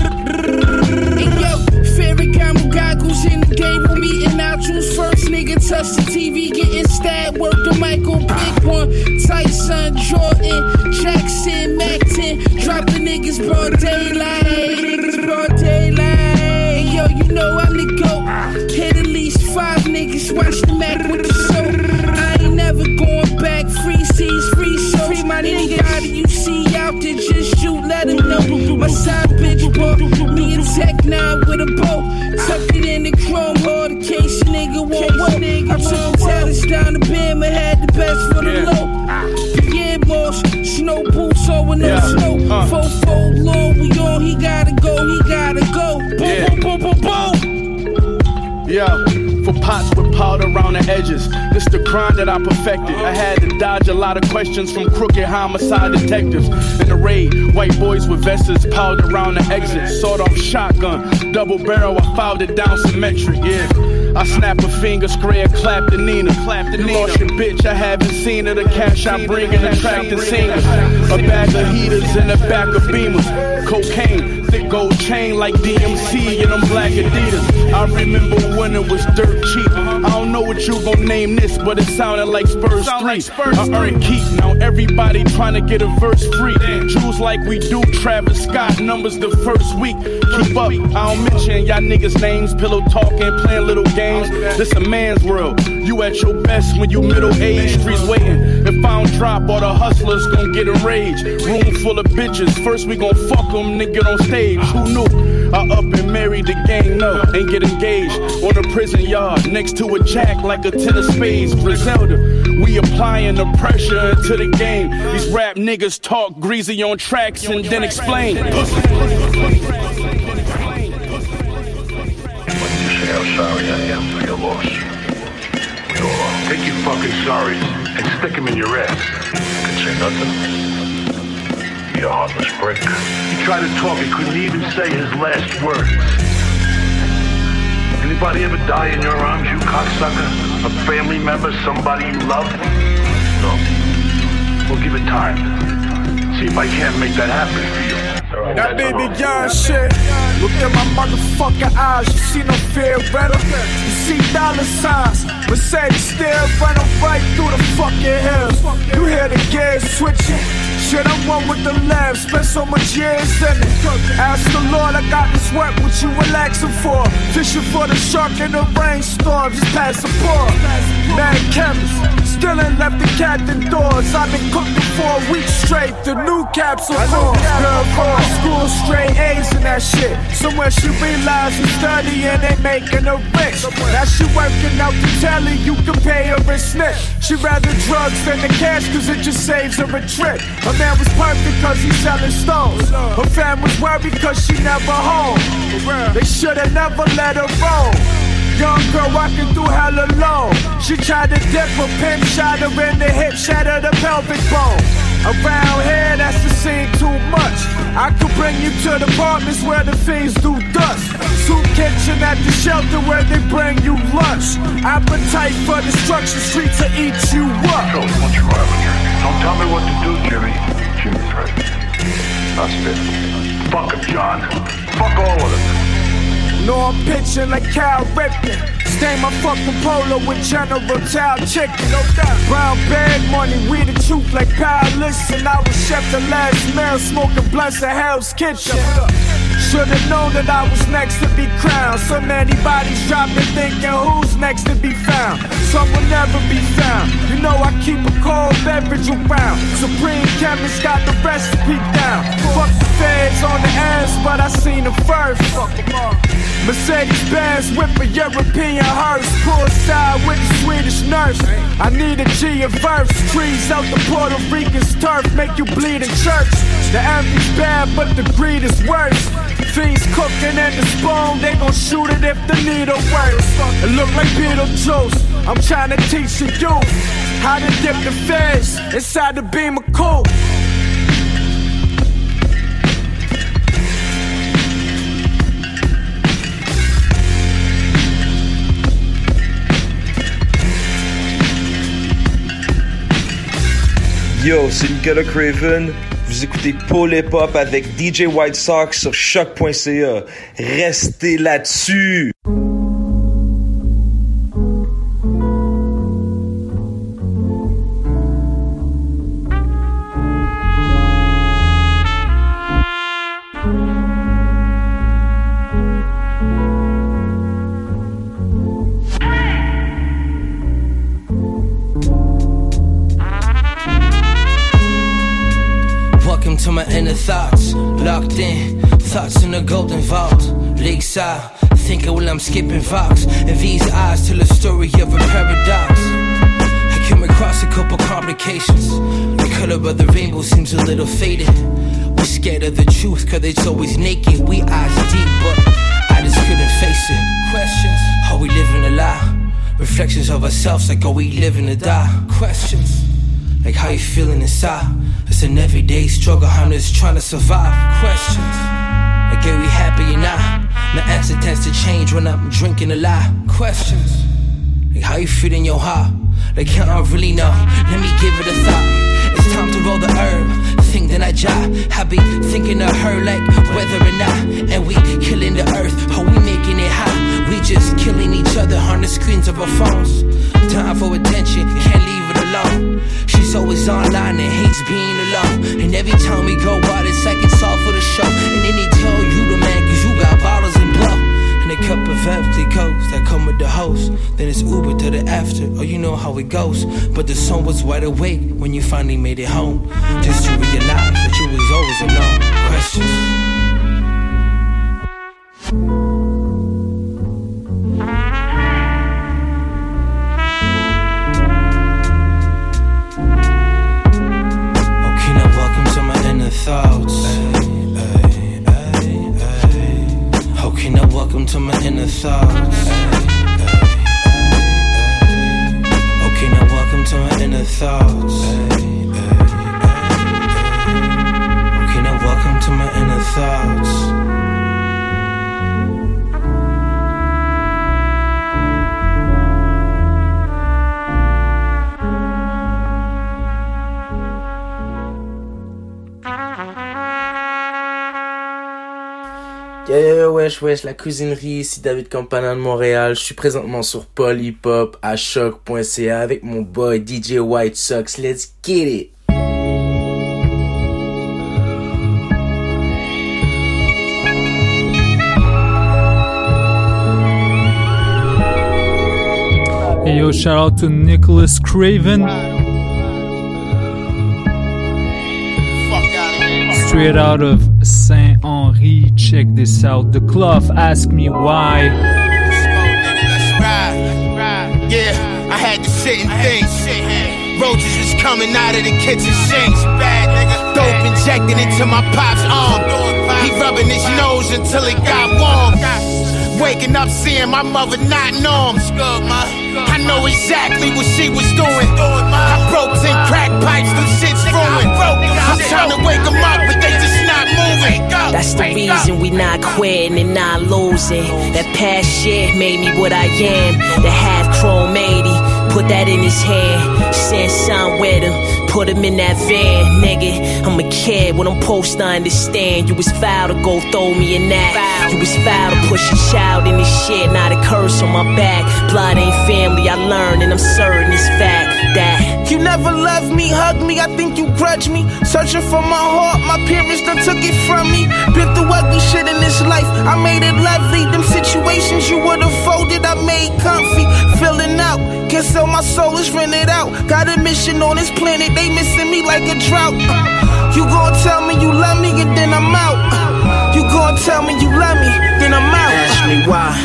Hey yo, Ferragamo goggles in the game with me, and I'll choose first. Nigga touch the TV, getting stabbed. Work the Michael, big one. Tyson, Jordan, Jackson, Mac 10. Drop the niggas broad daylight. Niggas broad daylight. Hey yo, you know I'm the GOAT. Hit at least 5 niggas, watch the Mac with the show. I ain't never going back. Free seas, free shows. Free my nigga, you see out there, just shoot, let him know. My side bitch, bro. Me and Tech 9 with a bow. Tuck it in the chrome, all the case, nigga won't work. I took the talents down the bim and had the best for the low. Pierre Moss, snow boots on with no snow. 4-4 long, we on, he gotta go, he gotta go. Boom, boom, boom, boom, boom. Yeah. For pots with powder around the edges. This the grind that I perfected. I had to dodge a lot of questions from crooked homicide detectives. In the raid, white boys with vests piled around the exit. Sawed off shotgun, double barrel, I filed it down symmetric, yeah. I snap a finger, spray a clap to Nina. You lost your bitch, I haven't seen her. The cash I bring and attract the singers. A bag of heaters in the back of Beamers. Cocaine, thick gold chain like DMC and them black Adidas. I remember when it was dirt cheap. I don't know what you gon' name this, but it sounded like Spurs 3. I earned keep, now everybody trying to get a verse free. Jewels like we do, Travis Scott numbers the first week. Keep up, I don't mention y'all niggas' names. Pillow talking, playing little games. This a man's world. You at your best when you middle-aged. Streets waiting. If I don't drop, all the hustlers gon' get enraged. Room full of bitches. First we gon' fuck them, then get on stage. Who knew? I up and married the gang, no, ain't get engaged. On a prison yard, next to a jack like a 10 of spades. Griselda, we applying the pressure into the game. These rap niggas talk greasy on tracks and then explain. How sorry I am for your loss. Take your fucking sorries and stick them in your ass. I can say nothing. You heartless prick. He tried to talk, he couldn't even say his last words. Anybody ever die in your arms, you cocksucker? A family member, somebody you love? No. We'll give it time. See if I can't make that happen for you. That baby young shit. Look at my motherfucking eyes. You see no fear, better. You see dollar signs. Mercedes still running right through the fucking hills. You hear the gears switching. Shit, I'm one with the lab. Spent so much years in it. Ask the Lord, I got this work. What you relaxing for? Fishing for the shark in the rainstorm. Just pass the ball. Mad chemist. Still ain't left the captain doors. I've been cooking for a week straight. The new capsule core. Girl from my school, straight A's and that shit. Somewhere she realized she's studying and making her rich. Now she working out the telly, you can pay her a snip. She rather drugs than the cash cause it just saves her a trip. Her man was perfect cause he's selling stones. Her fam was worried cause she never home. They should've never let her roll. Young girl walking through hell alone. She tried to dip a pin, shot her in the hip, shattered the pelvic bone. Around here, that's the scene too much. I could bring you to the apartments where the fiends do dust. Soup kitchen at the shelter where they bring you lunch. Appetite for destruction, streets to eat you up. Don't tell me what to do, Jimmy. Jimmy's right. I'll spit. Fuck him, John. Fuck all of them. No, I'm pitching like Cal Ripken. Stain my fucking polo with General Tao chicken. No doubt. Brown bag money, we the truth like Palace. And I was chef the last meal, smoking blunts at Hell's Kitchen. Should've known that I was next to be crowned. So many bodies dropping, thinking who's next to be found. Some will never be found. You know I keep a cold beverage around. Supreme chemist got the recipe down. Fuck the feds on the ass, but I seen them first. Mercedes-Benz whip a European hearse. Poolside with the Swedish nurse. I need a G of verse. Trees out the Puerto Rican's turf make you bleed in church. The envy's bad, but the greed is worse. Fiends cooking in the spoon, they gon' shoot it if the needle works. It look like Beetlejuice. I'm trying to teach the youth how to dip the feds inside the beam of coke. Yo, c'est Nicolas Craven. Vous écoutez Paul Hip Hop avec DJ White Sox sur choc.ca. Restez là-dessus! To my inner thoughts, locked in, thoughts in the golden vault, lakeside, thinking while I'm skipping Vox, and these eyes tell a story of a paradox. I came across a couple complications, the color of the rainbow seems a little faded. We're scared of the truth cause it's always naked, we eyes deep but I just couldn't face it. Questions, are we living a lie? Reflections of ourselves like are we living to die? Questions, like how you feeling inside? It's an everyday struggle, I'm just trying to survive. Questions, like are we happy or not? My answer tends to change when I'm drinking a lot. Questions, like how you feel in your heart? Like I don't really know, let me give it a thought. It's time to roll the herb, think that I jive. I be thinking of her like whether or not. And we killing the earth, are we making it hot? We just killing each other on the screens of our phones. Time for attention, can't leave it alone. She's always online and hates being alone. And every time we go out, it's like it's all for the show. And then they tell you the man, cause you got bottles and blow. And a cup of empty coats that come with the host. Then it's Uber to the after, oh you know how it goes. But the sun was wide awake when you finally made it home. Just to realize that you was always alone. Questions. Thoughts. Okay, now welcome to my inner thoughts. Okay, now welcome to my inner thoughts. Okay, now welcome to my inner thoughts. Wesh, la cuisinerie, ici David Campana de Montréal. Je suis présentement sur Paul Hip Hop à choc.ca avec mon boy DJ White Sox. Let's get it! Hey yo, shout out to Nicholas Craven. Straight out of Saint-Henri, check this out. The Cloth, Ask Me Why. Yeah, I had to sit and think. Roaches was coming out of the kitchen sinks. Dope injected into my pop's arm. He rubbing his nose until it got warm. Waking up seeing my mother not norm. I know exactly what she was doing. I broke 10 crack pipes, the shit's ruined. I'm trying to wake them up, but they just not moving. That's the reason we not quitting and not losing. That past shit made me what I am. The half chrome 80, put that in his hand. Send son with him, put him in that van. Nigga, I'm a kid, what I'm supposed to understand. You was foul to go throw me in that. You was foul to push a child in this shit. Not a curse on my back. Blood ain't family, I learned and I'm certain it's fact. that. You never loved me, hugged me, I think you grudge me. Searching for my heart, my parents done took it from me. Been through ugly shit in this life, I made it lovely. Them situations you would've folded, I made comfy. Filling out, can't sell my soul, it's rented out. Got a mission on this planet, they missing me like a drought. You gon' tell me you love me and then I'm out. You gon' tell me you love me, then I'm out. Ask me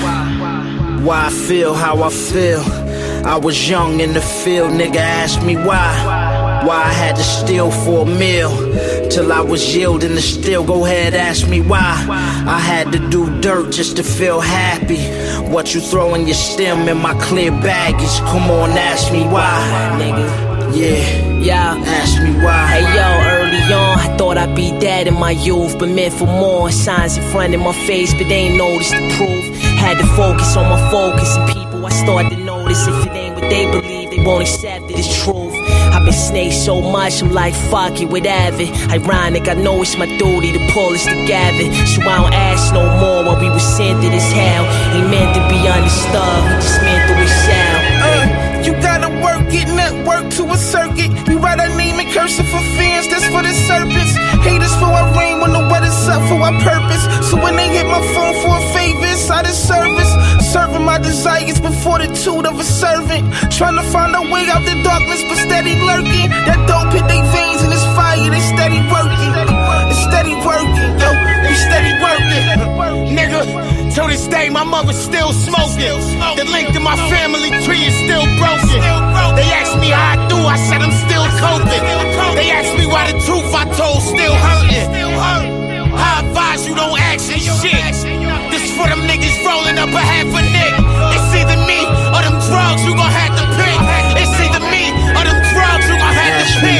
why I feel how I feel. I was young in the field, nigga, ask me why I had to steal for a meal till I was yielding to still. Go ahead, ask me why I had to do dirt just to feel happy. What you throw in your stem in my clear baggage? Come on, ask me why, nigga. Yeah, ask me why. Hey yo, early on, I thought I'd be dead in my youth, but meant for more. Signs in front of my face, but they ain't noticed the proof. Had to focus on my focus, and people I start to notice. If it ain't what they believe, they won't accept it as truth. I've been snaked so much, I'm like, fuck it, whatever. Ironic, I know it's my duty to pull us together. So I don't ask no more when we were sent to this hell. Ain't meant to be understood, we just meant to excel. You gotta work it, network to a circuit. We write our name and curse it for fans, that's for the serpents. Haters for our rain when the weather's up for our purpose. So when they hit my phone for a favor, it's out of service. Serving my desires before the fortitude of a servant. Trying to find a way out the darkness, but steady lurking. That dope hit they veins and it's fire, they steady working. It's steady working, yo, we steady working. Nigga, till this day my mother's still smoking. The link to my family tree is still broken. They asked me how I do, I said I'm still coping. They asked me why the truth I told still hurting. I advise you don't ask and shit. This for them niggas rolling up a half a nick. It's either me or them drugs you gon' have to pick. It's either me or them drugs you gon' have to pick.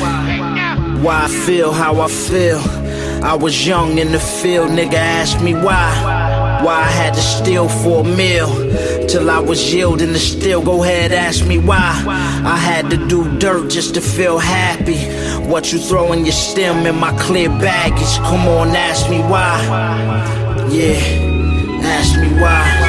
Why I feel how I feel. I was young in the field, nigga, ask me why I had to steal for a meal till I was yielding to still. Go ahead, ask me why I had to do dirt just to feel happy. What you throw in your stem in my clear baggage? Come on, ask me why. Yeah, ask me why.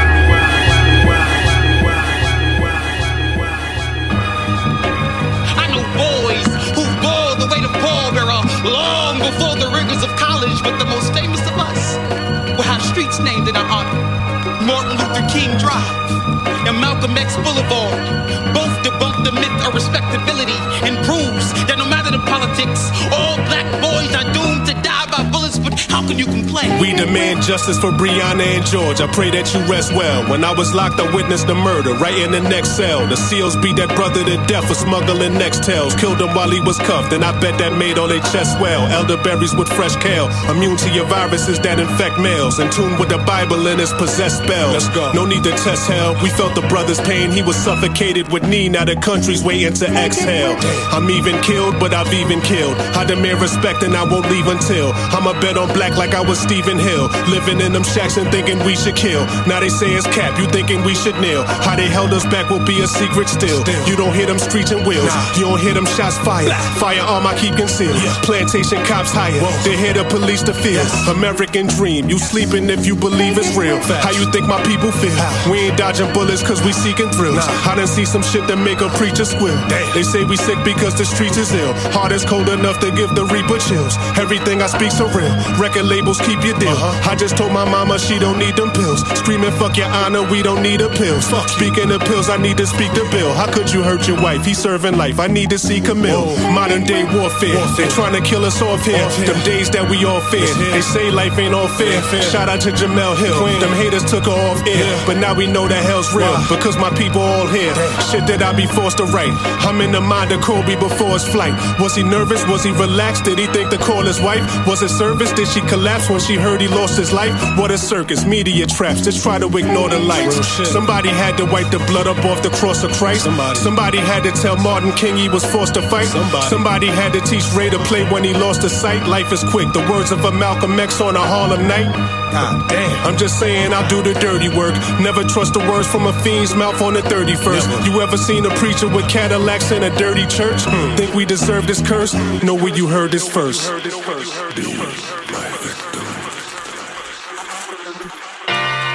Long before the rigors of college, but the most famous of us will have streets named in our honor. Martin Luther King Drive and Malcolm X Boulevard both debunk the myth of respectability and proves that no matter the politics, all black boys are doomed to die by bullets, but how can you complain? We demand justice for Breonna and George. I pray that you rest well. When I was locked, I witnessed the murder right in the next cell. The SEALs beat that brother to death for smuggling Nextels. Killed him while he was cuffed, and I bet that made all their chests well. Elderberries with fresh kale, immune to your viruses that infect males. In tune with the Bible and its possessed spells. Let's go. No need to test hell. We felt the brother's pain. He was suffocated with knee. Now the country's waiting to exhale. I'm even killed, but I've even killed. I demand respect and I won't leave until I'm a bet on black like I was Stephen Hill. Living in them shacks and thinking we should kill. Now they say it's cap, you thinking we should kneel. How they held us back will be a secret still. You don't hear them screeching wheels. You don't hear them shots fired. Firearm I keep concealed. Plantation cops hired. They hear the police to fear. American dream. You sleeping if you believe it's real. How you think my people feel? We ain't dodging bullets cause we seeking thrills. I done see some shit that make a preacher squeal. They say we sick because the streets is ill. Heart is cold enough to give the reaper chills. Everything I speak so real. Record labels keep your deal. I just told my mama she don't need them pills. Screaming fuck your honor, we don't need a pill. Speaking of pills, I need to speak to Bill. How could you hurt your wife? He's serving life. I need to see Camille. Modern day warfare. They trying to kill us off here. Them days that we all fear. They say life ain't all fair. Shout out to Jamel Hill. Them haters took her off air. But now we know that hell's real. Because my people all here. Shit that I be forced to write. I'm in the mind of Kobe before his flight. Was he nervous? Was he relaxed? Did he think to call his wife? Was it service? Did she collapse when she heard he lost his life? What a circus, media traps, just try to ignore the lights. Somebody had to wipe the blood up off the cross of Christ. Somebody had to tell Martin King he was forced to fight. Somebody had to teach Ray to play when he lost his sight. Life is quick, the words of a Malcolm X on a Harlem night. God damn. I'm just saying I'll do the dirty work. Never trust the words from a fiend's mouth on the 31st. You ever seen a preacher with Cadillacs in a dirty church? Think we deserve this curse? Know where you heard this first.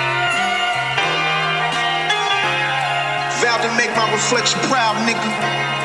Vowed to make my reflection proud, nigga.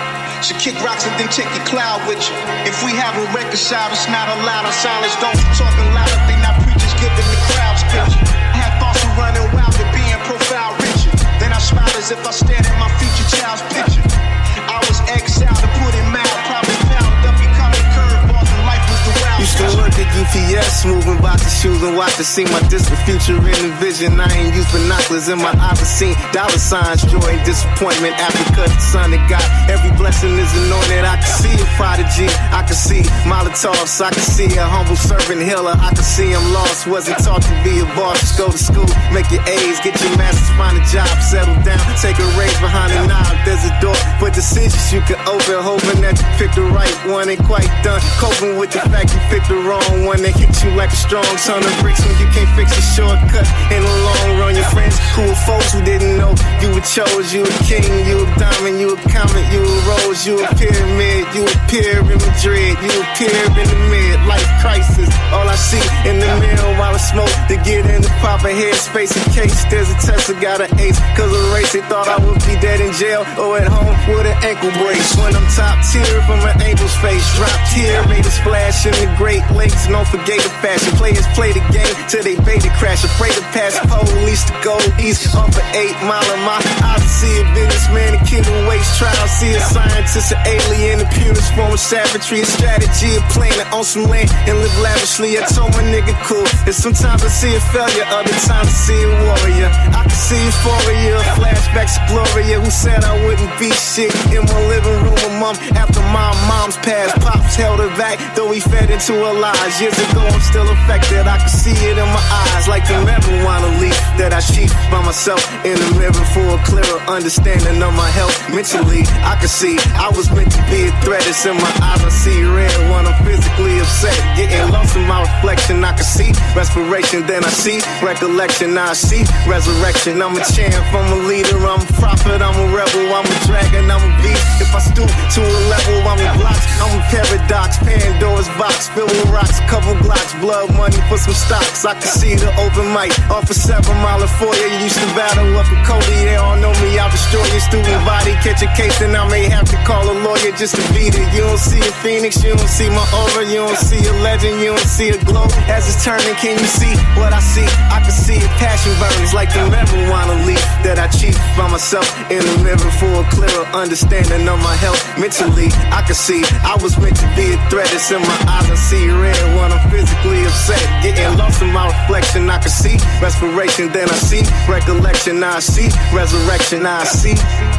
So kick rocks and then take your cloud with you. If we haven't reconciled, it's not allowed. Our silence don't be talking loud if they not preachers giving the crowds picture. I had thoughts of running wild and being profile richer. Then I smiled as if I stared at my future child's picture. I was exiled to put it mild, probably found up becoming curveballs and life was the wild. Used to work at UPS, moving boxes, shoes and watch to see my distant future in the vision. I ain't used binoculars in my eyes, I seen dollar signs, joy and disappointment. Africa, the son of God, every blessing is anointed. I can see a prodigy, I can see Molotovs, I can see a humble servant healer. I can see I'm lost, wasn't taught to be a boss. Just go to school, make your A's, get your masters, find a job, settle down, take a raise behind a knob. There's a door for decisions you can open, hoping that you pick the right one. Ain't quite done coping with the fact you picked the wrong one that hits you like a strong ton of bricks when you can't fix a shortcut in the long run. Your friends who were folks who didn't know you were chose, you a king, you a diamond, you a comet, you a rose, you a pyramid, you appear in Madrid, you appear in the mid-life crisis. All I see in the mirror while I smoke to get in the proper headspace in case there's a test I got an ace. Cause a race they thought I would be dead in jail or at home with an ankle brace. When I'm top tier from an angel's face, dropped here, made a splash in the Great Lakes. Don't forget the fashion, players play the game till they bait it crash. Afraid to pass police to go east off an 8 mile of my eyes to see a businessman and kid who waste trial. See a scientist, an alien, a purest form of savagery, a strategy of playing to own some land and live lavishly. I told my nigga cool. And sometimes I see a failure, other times I see a warrior. I can see euphoria, flashbacks of Gloria, who said I wouldn't be shit in my living room a month after my mom's passed. Pops held her back, though he fed into her lies. Years ago, I'm still affected. I can see it in my eyes, like the marijuana leaf that I sheath by myself in the mirror for a clearer understanding of my health. Mentally, I can see I was meant to be a threat. It's in my eyes, I see red when I'm physically upset. Getting lost in my reflection, I can see respiration, then I see recollection. Now I see resurrection. I'm a champ, I'm a leader, I'm a prophet, I'm a rebel, I'm a dragon, I'm a beast. If I stoop to a level, I'm a block, I'm a paradox. Pandora's box filled with rocks, couple blocks, blood money for some stocks. I can see the open mic off a 7 mile for you. Used to battle up a Cody, they all know me. I'll destroy your student body, catch a case, and I may have to call a lawyer just to beat it. You don't see a phoenix, you don't see my aura, you don't see a legend, you don't see a glow. As it's turning, can you see what I see? I can see a passion burns like the marijuana leaf that I cheat by myself in the mirror for a clearer understanding of my health. Mentally, I can see I was meant to be a threat. It's in my eyes, I see red when I'm physically upset. Getting lost in my reflection, I can see respiration, then I see recollection. Now I see resurrection, now I see.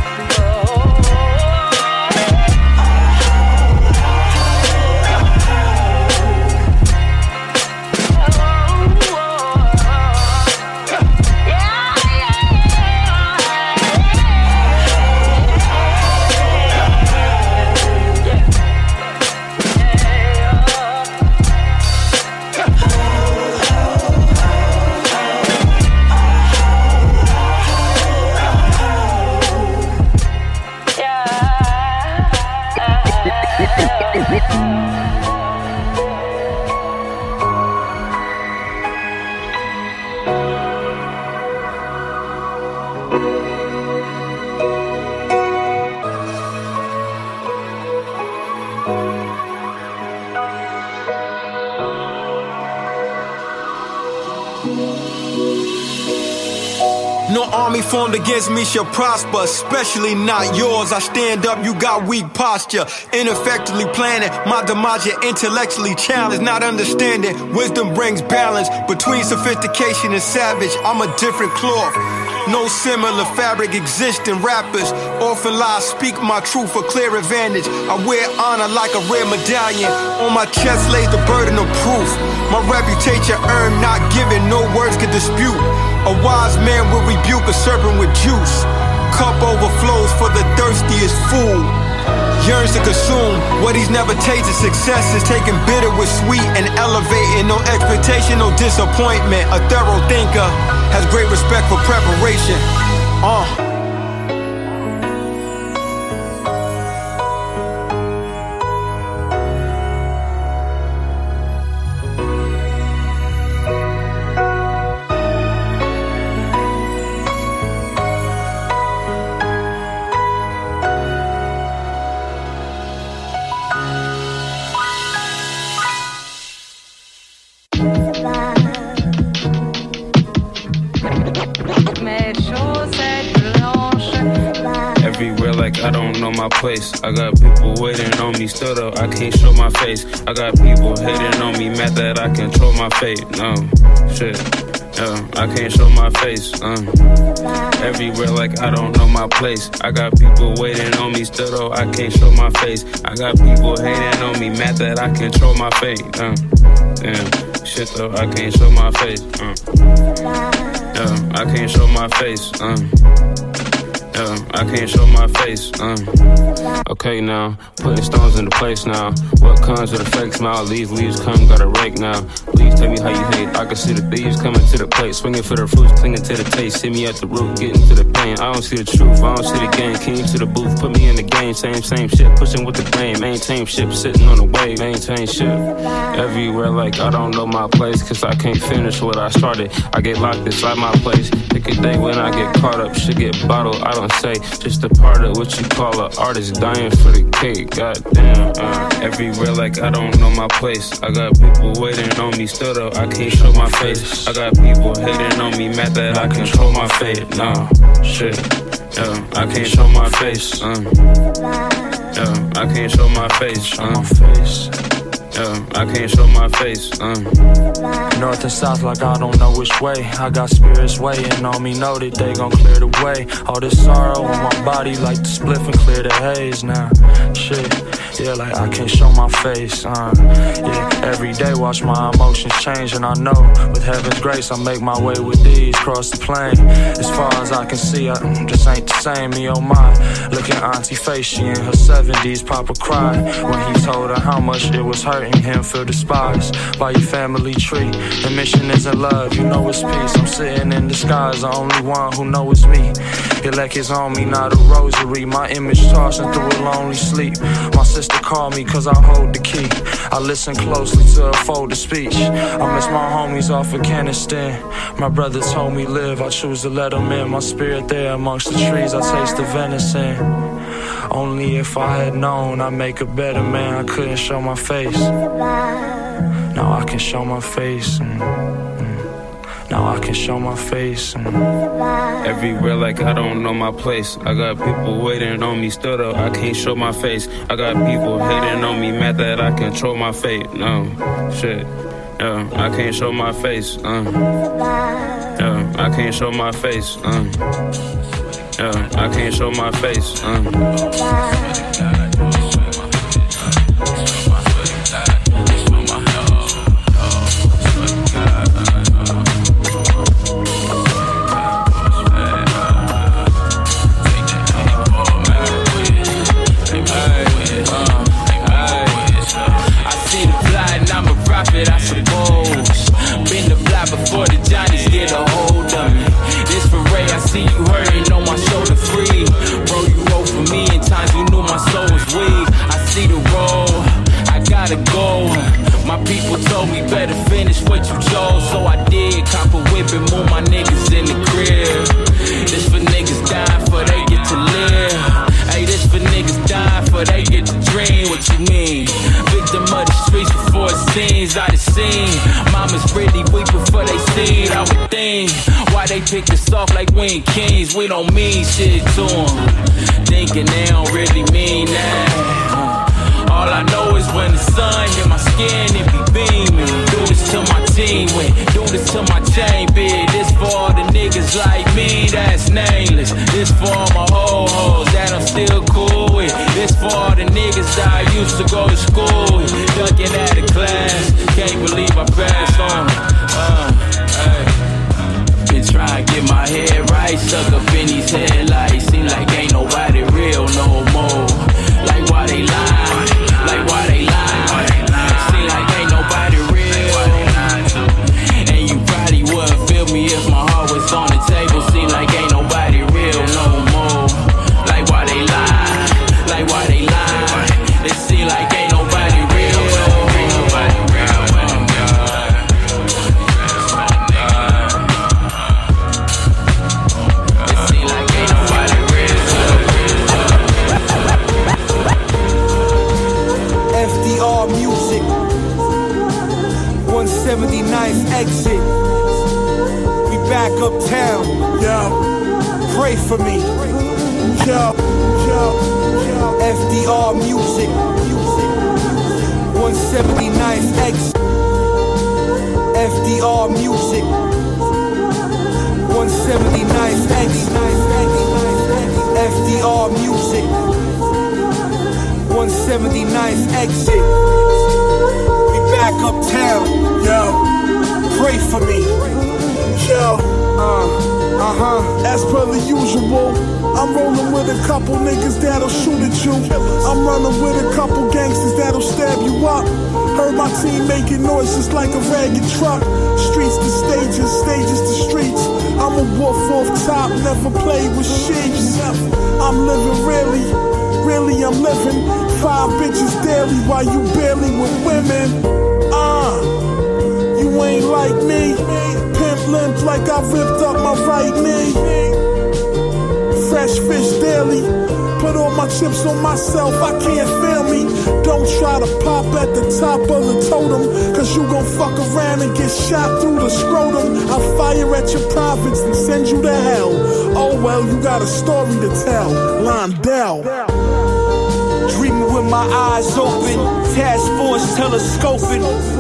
No army formed against me shall prosper, especially not yours. I stand up, you got weak posture. Ineffectively planning my demise, you're intellectually challenged. Not understanding, wisdom brings balance between sophistication and savage. I'm a different cloth. No similar fabric exists in rappers. Often lies speak my truth for clear advantage. I wear honor like a rare medallion. On my chest lays the burden of proof. My reputation earned, not given, no words can dispute. A wise man will rebuke a serpent with juice. Cup overflows for the thirstiest fool. Yearns to consume what he's never tasted. Success is taking bitter with sweet and elevating. No expectation, no disappointment. A thorough thinker has great respect for preparation. like I don't know my place. I got people waiting on me, still though I can't show my face. I got people hating on me, mad that I control my fate. No, shit. I can't show my face. Everywhere like I don't know my place. I got people waiting on me, still though I can't show my face. I got people hating on me, mad that I control my fate. Damn, shit though, I can't show my face. I can't show my face. I can't show my face. Okay now, putting stones into place now. What comes with a fake smile? Leaves come, gotta rake now. Please tell me how you hate. I can see the thieves coming to the plate, swinging for the fruits, clinging to the taste. See me at the root, getting to the pain. I don't see the truth, I don't see the game. Came to the booth, put me in the game. Same shit, pushing with the grain. Maintain ship, sitting on the wave. Maintain ship. Everywhere like I don't know my place, cause I can't finish what I started. I get locked inside my place. Pick a day when I get caught up, shit get bottled. I don't say, just a part of what you call an artist dying for the cake. Goddamn, everywhere like I don't know my place. I got people waiting on me, still though I can't show my face. I got people hating on me, mad that I control my fate. No, shit, I can't show my face. I can't show my face. I can't show my face. North and south like I don't know which way. I got spirits waiting on me, know that they gon' clear the way. All this sorrow on my body like the spliff and clear the haze now. Shit, yeah, like I can't show my face. Yeah, every day watch my emotions change, and I know with heaven's grace I make my way with these cross the plane. As far as I can see, I just ain't the same. Me oh my, look at Auntie face, she in her 70s. Papa cried when he told her how much it was hurting him. Feel despised by your family tree. The mission isn't love, you know it's peace. I'm sitting in the skies, the only one who know it's me. Elect is on me, not a rosary. My image tossing through a lonely sleep. My sister called me cause I hold the key. I listen closely to her folded speech. I miss my homies off Afghanistan. My brother told me live, I choose to let them in. My spirit there amongst the trees, I taste the venison. Only if I had known I'd make a better man. I couldn't show my face. Now I can show my face. Now I can show my face. Everywhere like I don't know my place. I got people waiting on me, still though I can't show my face. I got people hating on me, mad that I control my fate. No, shit, I can't show my face. I can't show my face. I can't show my face. I suppose. Been the block before the Johnnies get a hold of me. This for Ray, I see you hurting on my shoulder free. Bro, you wrote for me in times you knew my soul was weak. I see the road, I gotta go. My people told me better finish what you chose, so I did. Cop a whip and move my niggas in the crib. This for niggas dying for they get to live. Hey, this for niggas dying for they get to dream. What you mean? Victim of the streets before it seems out of scene. Mamas really weeping for they seed. I would think why they pick us off like we ain't kings. We don't mean shit to them, thinking they don't really mean that. All I know is when the sun hit my skin, it be beaming. Do this to my team win, do this to my chain big. This for all the niggas like me that's nameless. This for all my ho-hos that I'm still cool with. This for all the niggas that I used to go to school with. Ducking out of class, can't believe I passed on it. Been trying to get my head right, stuck up in these headlights. Seem like ain't nobody real no more. Like why they lie? Like why they lie? Seem like ain't nobody real. And you probably wouldn't feel me if my heart was on the table. Seem like ain't nobody real no more. Like why they lie? Like why they lie? It seem like ain't nobody real. Nobody real. It seem like ain't nobody real. FDR music, 179th exit. We back uptown, yo. Pray for me. FDR music. 179th exit. FDR music. 179th exit. FDR music. 179th exit. We back uptown. Yo, pray for me. Yo, as per the usual, I'm rolling with a couple niggas that'll shoot at you. I'm running with a couple gangsters that'll stab you up. Heard my team making noises like a ragged truck. Streets to stages, stages to streets. I'm a wolf off top, never play with sheeps. I'm living really I'm living. 5 bitches daily while you barely with women. You ain't like me. Pimp limp like I ripped up my right knee. Fresh fish daily. Put all my chips on myself, I can't feel me. Don't try to pop at the top of the totem, cause you gon' fuck around and get shot through the scrotum. I'll fire at your prophets and send you to hell. Oh well, you got a story to tell. Londell. Dreaming with my eyes open, task force telescoping.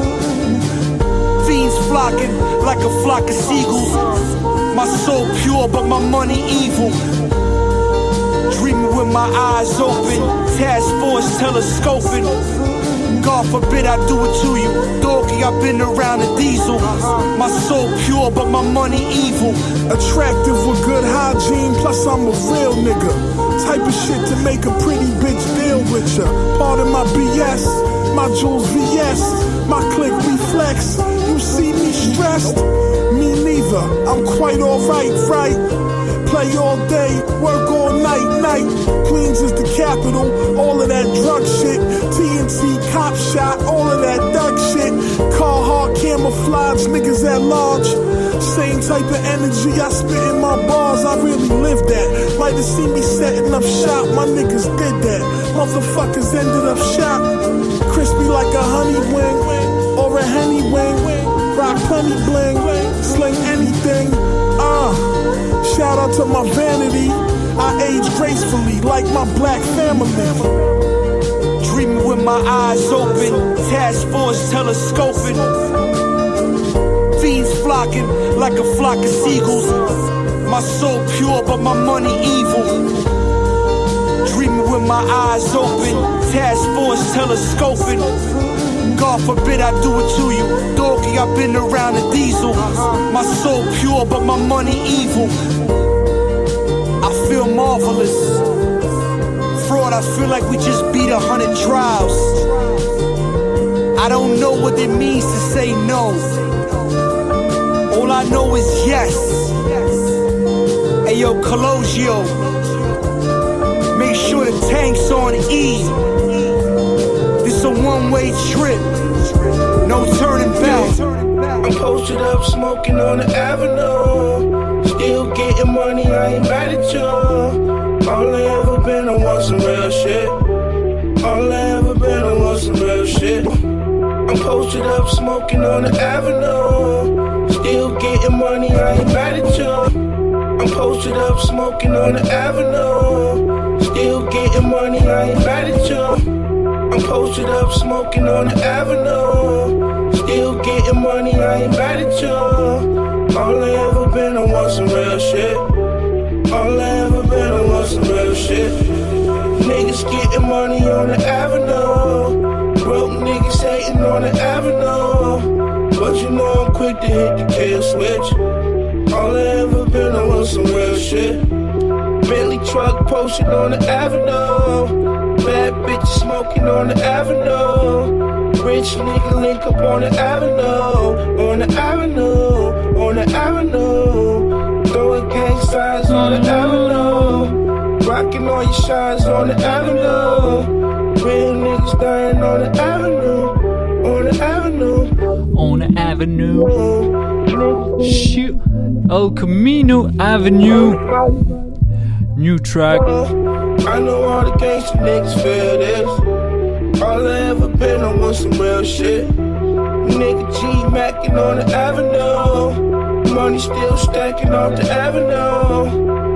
Fiends flocking like a flock of seagulls. My soul pure, but my money evil. Dreaming with my eyes open, task force telescoping. God forbid I do it to you. Doggy, I've been around a diesel. My soul pure, but my money evil. Attractive with good hygiene, plus I'm a real nigga. Type of shit to make a pretty bitch deal with ya. Pardon my BS, my jewels VS, my click reflex. You see me stressed? Me neither, I'm quite alright, right? Play all day, work all night. Queens is the capital, all of that drug shit. TNT, cop shot, all of that thug shit. Carhartt, camouflage, niggas at large. Same type of energy I spit in my bars, I really live that. Might have seen me setting up shop, my niggas did that. Motherfuckers ended up shot. Crispy like a honey wing, or a henny wing. Rock plenty bling, sling anything. Shout out to my vanity. I age gracefully like my black family. Dreaming with my eyes open, task force telescoping. Fiends flocking like a flock of seagulls. My soul pure, but my money evil. Dreaming with my eyes open, task force telescoping. God forbid I do it to you. Doggy, I've been around a diesel. My soul pure, but my money evil. I feel marvelous. Fraud, I feel like we just beat 100 trials. I don't know what it means to say no. All I know is yes. Hey yo, Colosio, make sure the tank's on E. This a one-way trip, no turning back. I'm posted up, smoking on the avenue. Still getting money, I ain't mad at you. All I ever been, I want some real shit. All I ever been, I want some real shit. I'm posted up, smoking on the avenue. Still getting money, I ain't mad at you. I'm posted up, smoking on the avenue. Still getting money, I ain't mad at you. I'm posted up, smoking on the avenue. Still getting money, I ain't mad at you. All I ever been, I want some real shit. All I ever been, I want some real shit. Niggas getting money on the avenue. Broke niggas hating on the avenue. But you know I'm quick to hit the kill switch. All I ever been, I want some real shit. Bentley truck posted on the avenue. Bad bitches smoking on the avenue. Rich nigga link up on the avenue. On the avenue. On the avenue. Throwing gang signs on the avenue. Rocking all your shines on the avenue. Real niggas dying on the avenue. On the avenue. On the avenue. Shoot. El Camino Avenue. New track. I know all the gangsta niggas feel this. All I ever been, I want some real shit. Nigga G macking on the avenue. Money still stacking off the avenue.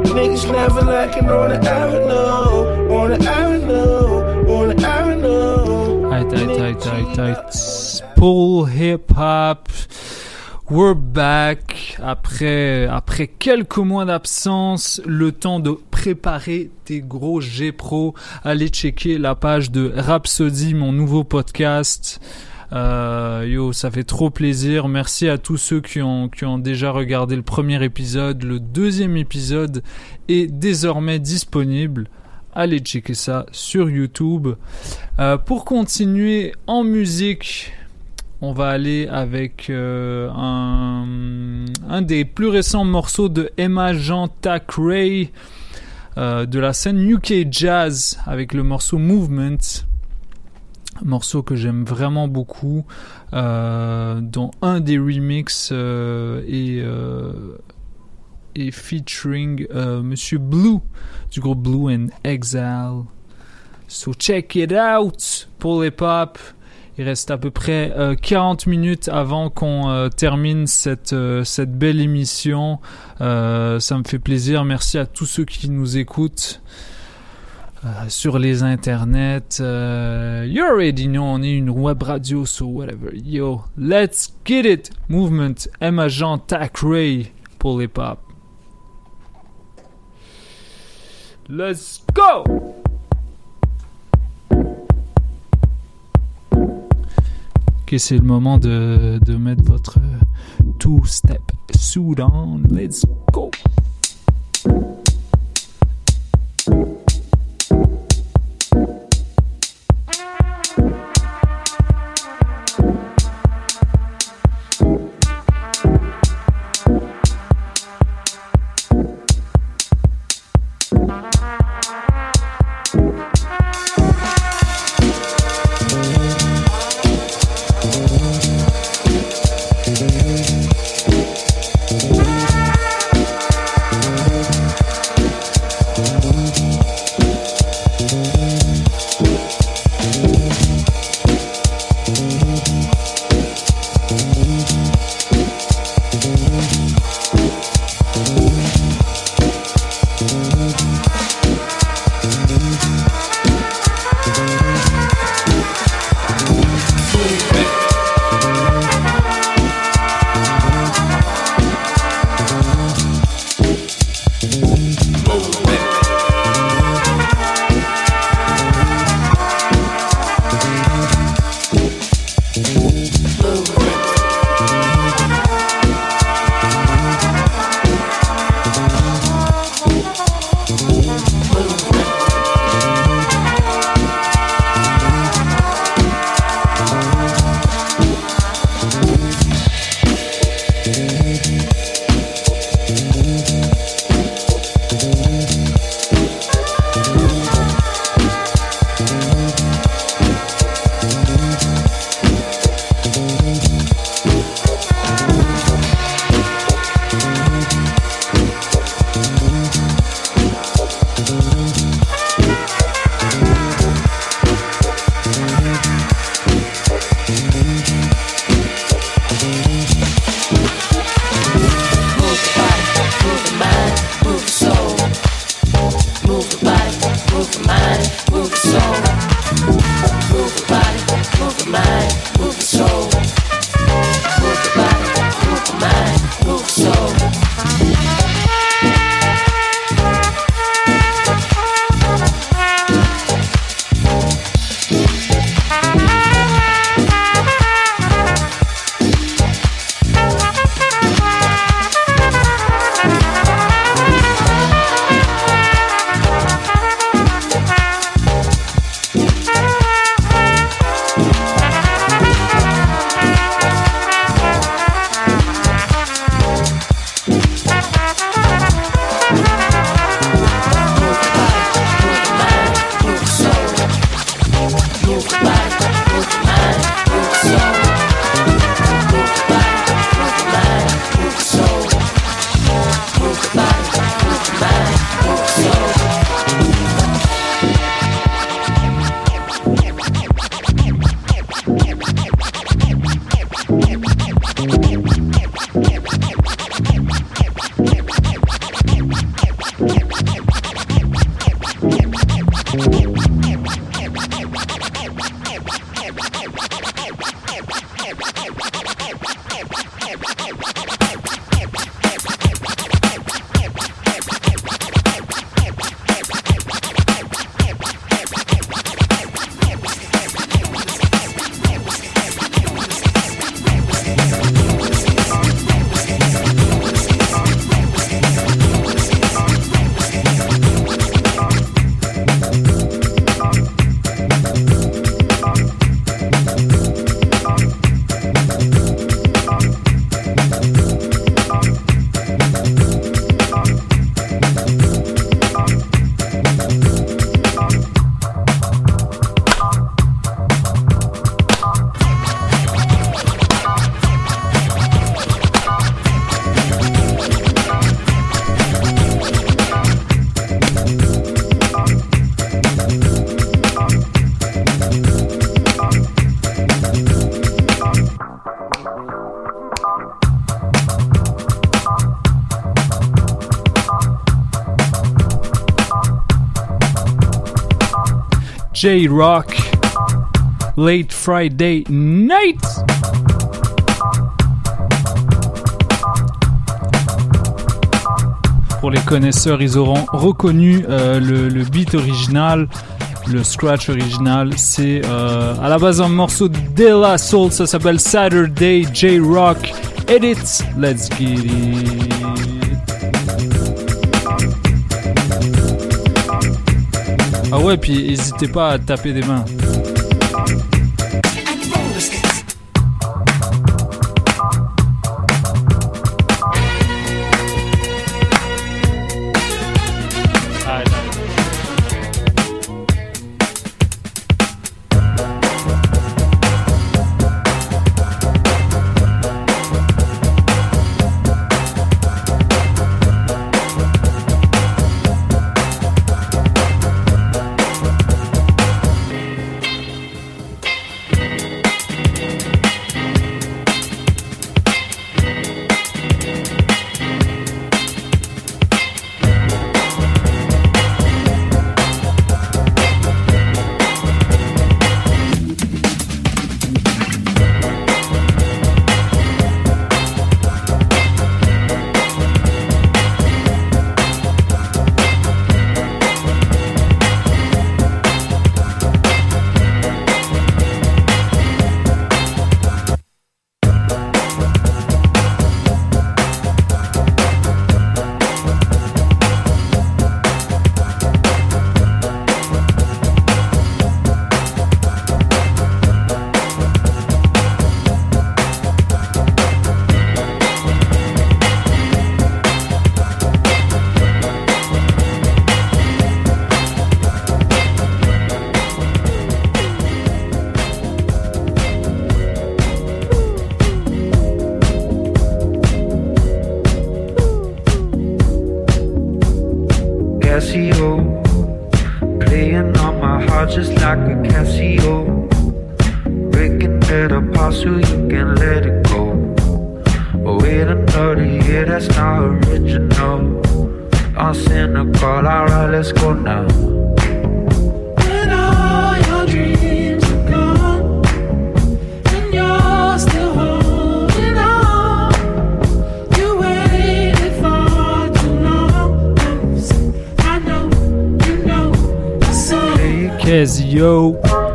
Niggas never lacking on the avenue, on the avenue, on the avenue. Tight. Pull Hip Hop. We're back. Après quelques mois d'absence, le temps de préparer tes gros G-Pro. Allez checker la page de Rhapsody, mon nouveau podcast. Ça fait trop plaisir. Merci à tous ceux qui ont déjà regardé le premier épisode. Le deuxième épisode est désormais disponible. Allez checker ça sur YouTube. Pour continuer en musique, on va aller avec un des plus récents morceaux de Emma Jean Thackeray de la scène UK Jazz avec le morceau Movement. Un morceau que j'aime vraiment beaucoup, dont un des remixes est featuring Monsieur Blue du groupe Blue and Exile. So check it out pour les pop. Il reste à peu près 40 minutes avant qu'on termine cette belle émission. Ça me fait plaisir. Merci à tous ceux qui nous écoutent sur les internets. You already know, on est une web radio, so whatever. Yo, let's get it. Movement, Emma Jean Thackeray pour les pop. Let's go! Ok, c'est le moment de mettre votre two-step suit on. Let's go! J-Rock, Late Friday Night. Pour les connaisseurs, ils auront reconnu le beat original, le scratch original. C'est à la base un morceau de De La Soul, ça s'appelle Saturday J-Rock Edit. Let's get it. Ah ouais, puis n'hésitez pas à taper des mains. Yo,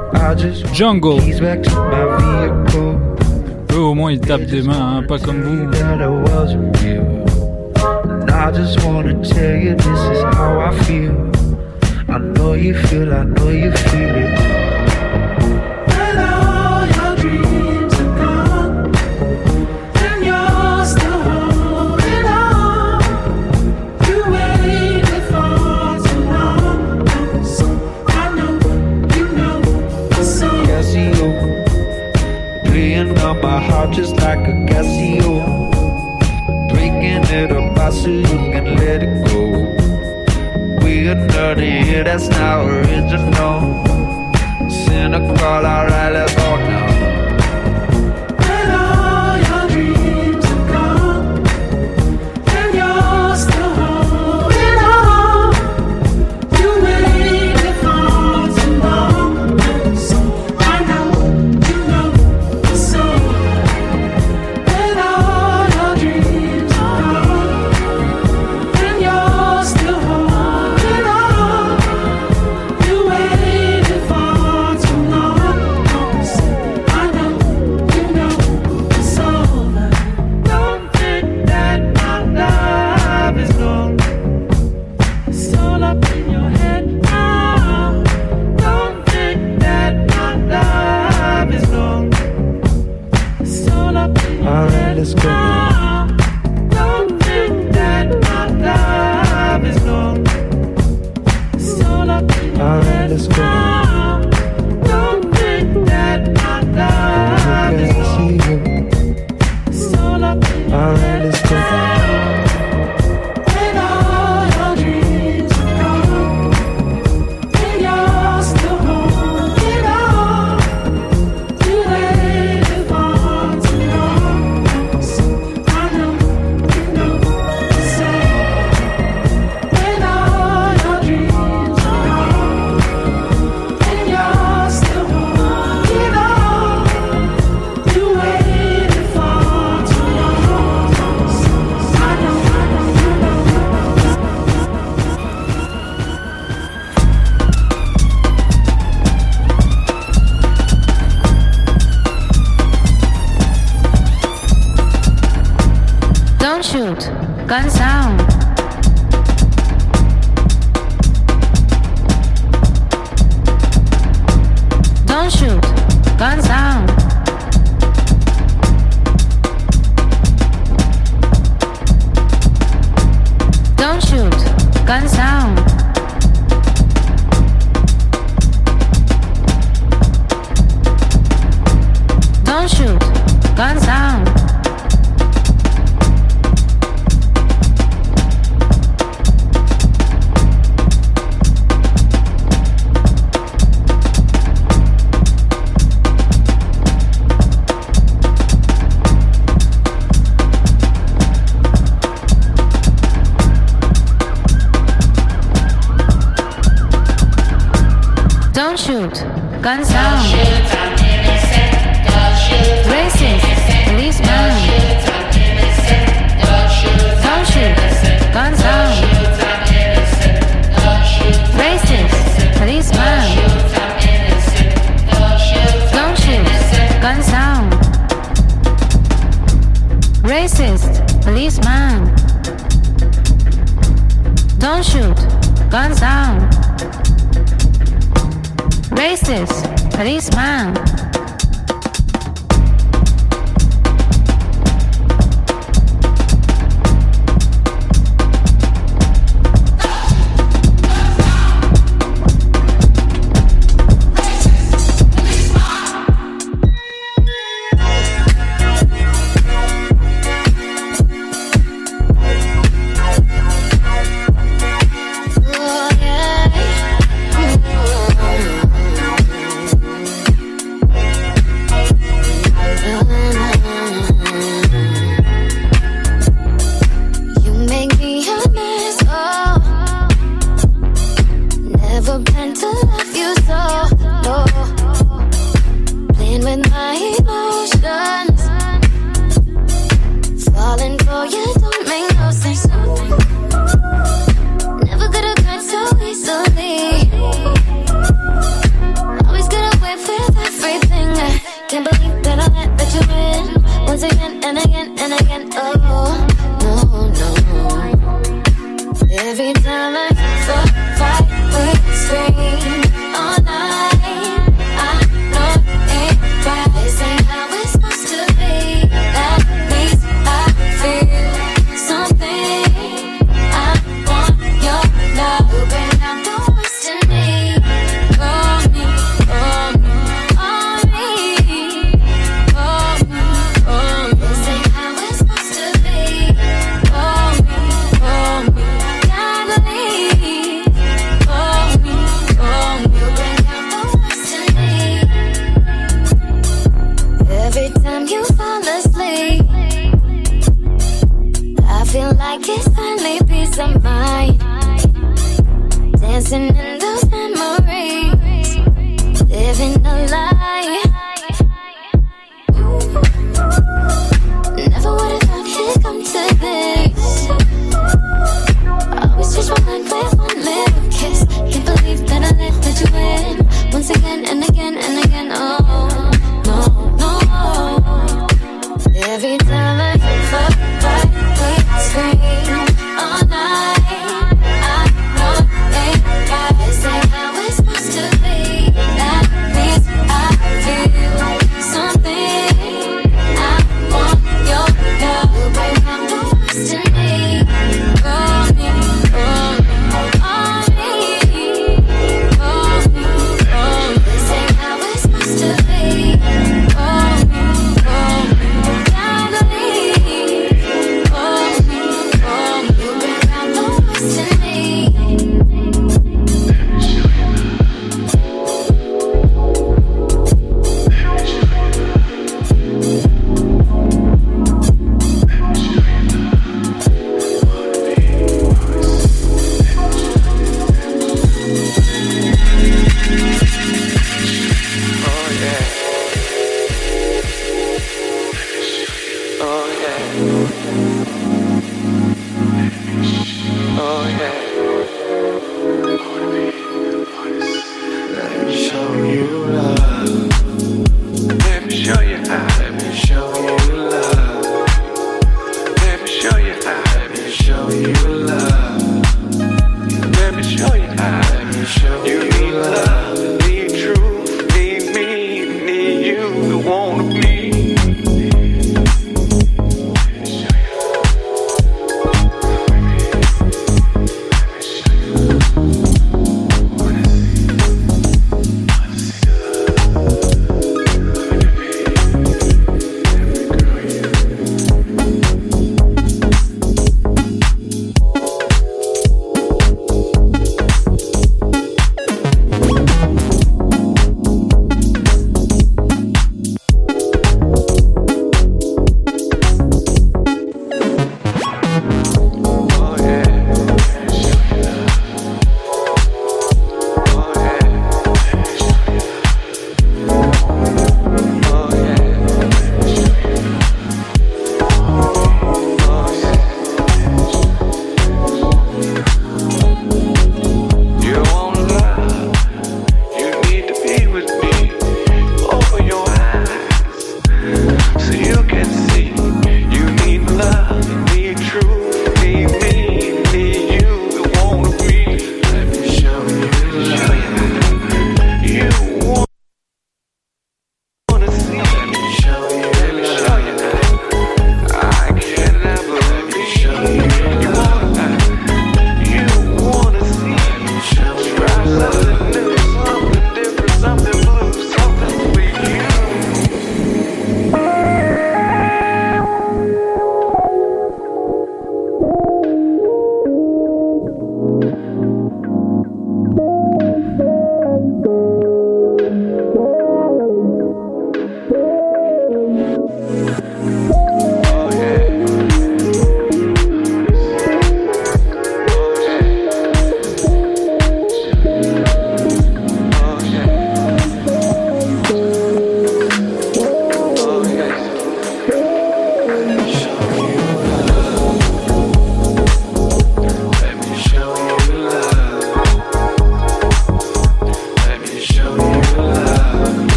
Jungle. Eux au moins ils tapent des mains, hein, pas comme vous. I just wanna tell you this is how I feel. I know you feel it. And all your dreams are gone, and you're still holding on. You waited for too long, so I know you know the song. Casio, playing on my heart just like a Casio. Breaking it apart so you can let it go. We're nerdy, yeah, that's not original. Cynical, alright, let's go now. And all your dreams are gone, and you're still holding on. You waited for too long, so I know you know the song. And all your dreams are gone, and you're still holding on. You waited for too long, so gun sound. Don't shoot, gun sound. Don't shoot, gun sound. Don't shoot, gun sound. Don't shoot, gun sound. Racist, policeman. Don't shoot, gun sound. Racist, policeman. Don't shoot, gun sound. Racist, policeman. Don't shoot, gun sound. Racist, policeman. show you how. Let me show you how. Let me show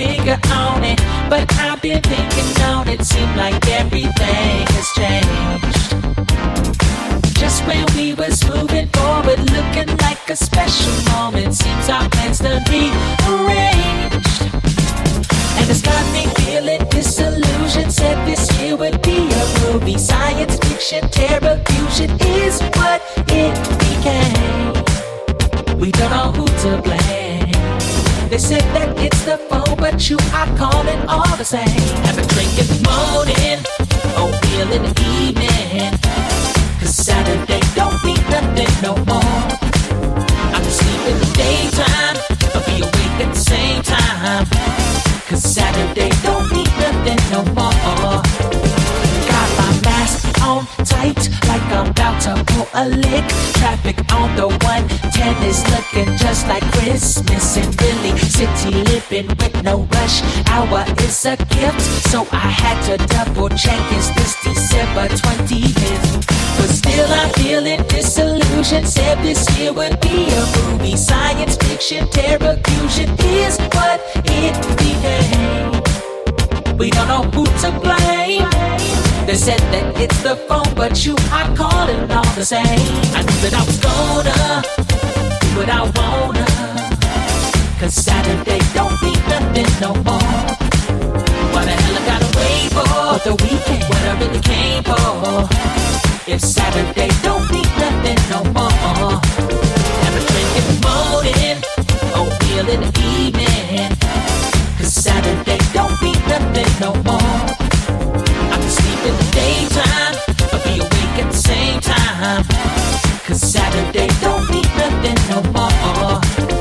figure on it, but I've been thinking on it. Seemed like everything has changed. Just when we was moving forward, looking like a special moment, seems our plans done rearranged. And it's got me feeling disillusioned. Said this year would be a movie. Science fiction, terror fusion is what it became. We don't know who to blame. They said that it's the phone, but you are calling all the same. Have a drink in the morning, oatmeal in the evening. Cause Saturday don't mean nothing no more. I can sleep in the daytime, but be awake at the same time. Cause Saturday don't mean nothing no more. Got my mask on tight, like I'm about to pull a lick. Traffic on the 110 is looking just like Christmas. And really, city living with no rush hour is a gift. So I had to double check, is this December 25th? But still I'm feeling disillusioned. Said this year would be a movie. Science fiction, terror fusion is what it became. We don't know who to blame. They said that it's the phone, but you are calling all the same. I knew that I was gonna do what I wanna. Cause Saturday don't mean nothing no more. What the hell I gotta wait for the weekend? What I really came for. If Saturday don't mean nothing no more. Have a drink in the morning, oatmeal in the evening. Cause Saturday don't mean nothing no more. I can sleep in the daytime, but be awake at the same time. Cause Saturday don't mean nothing no more.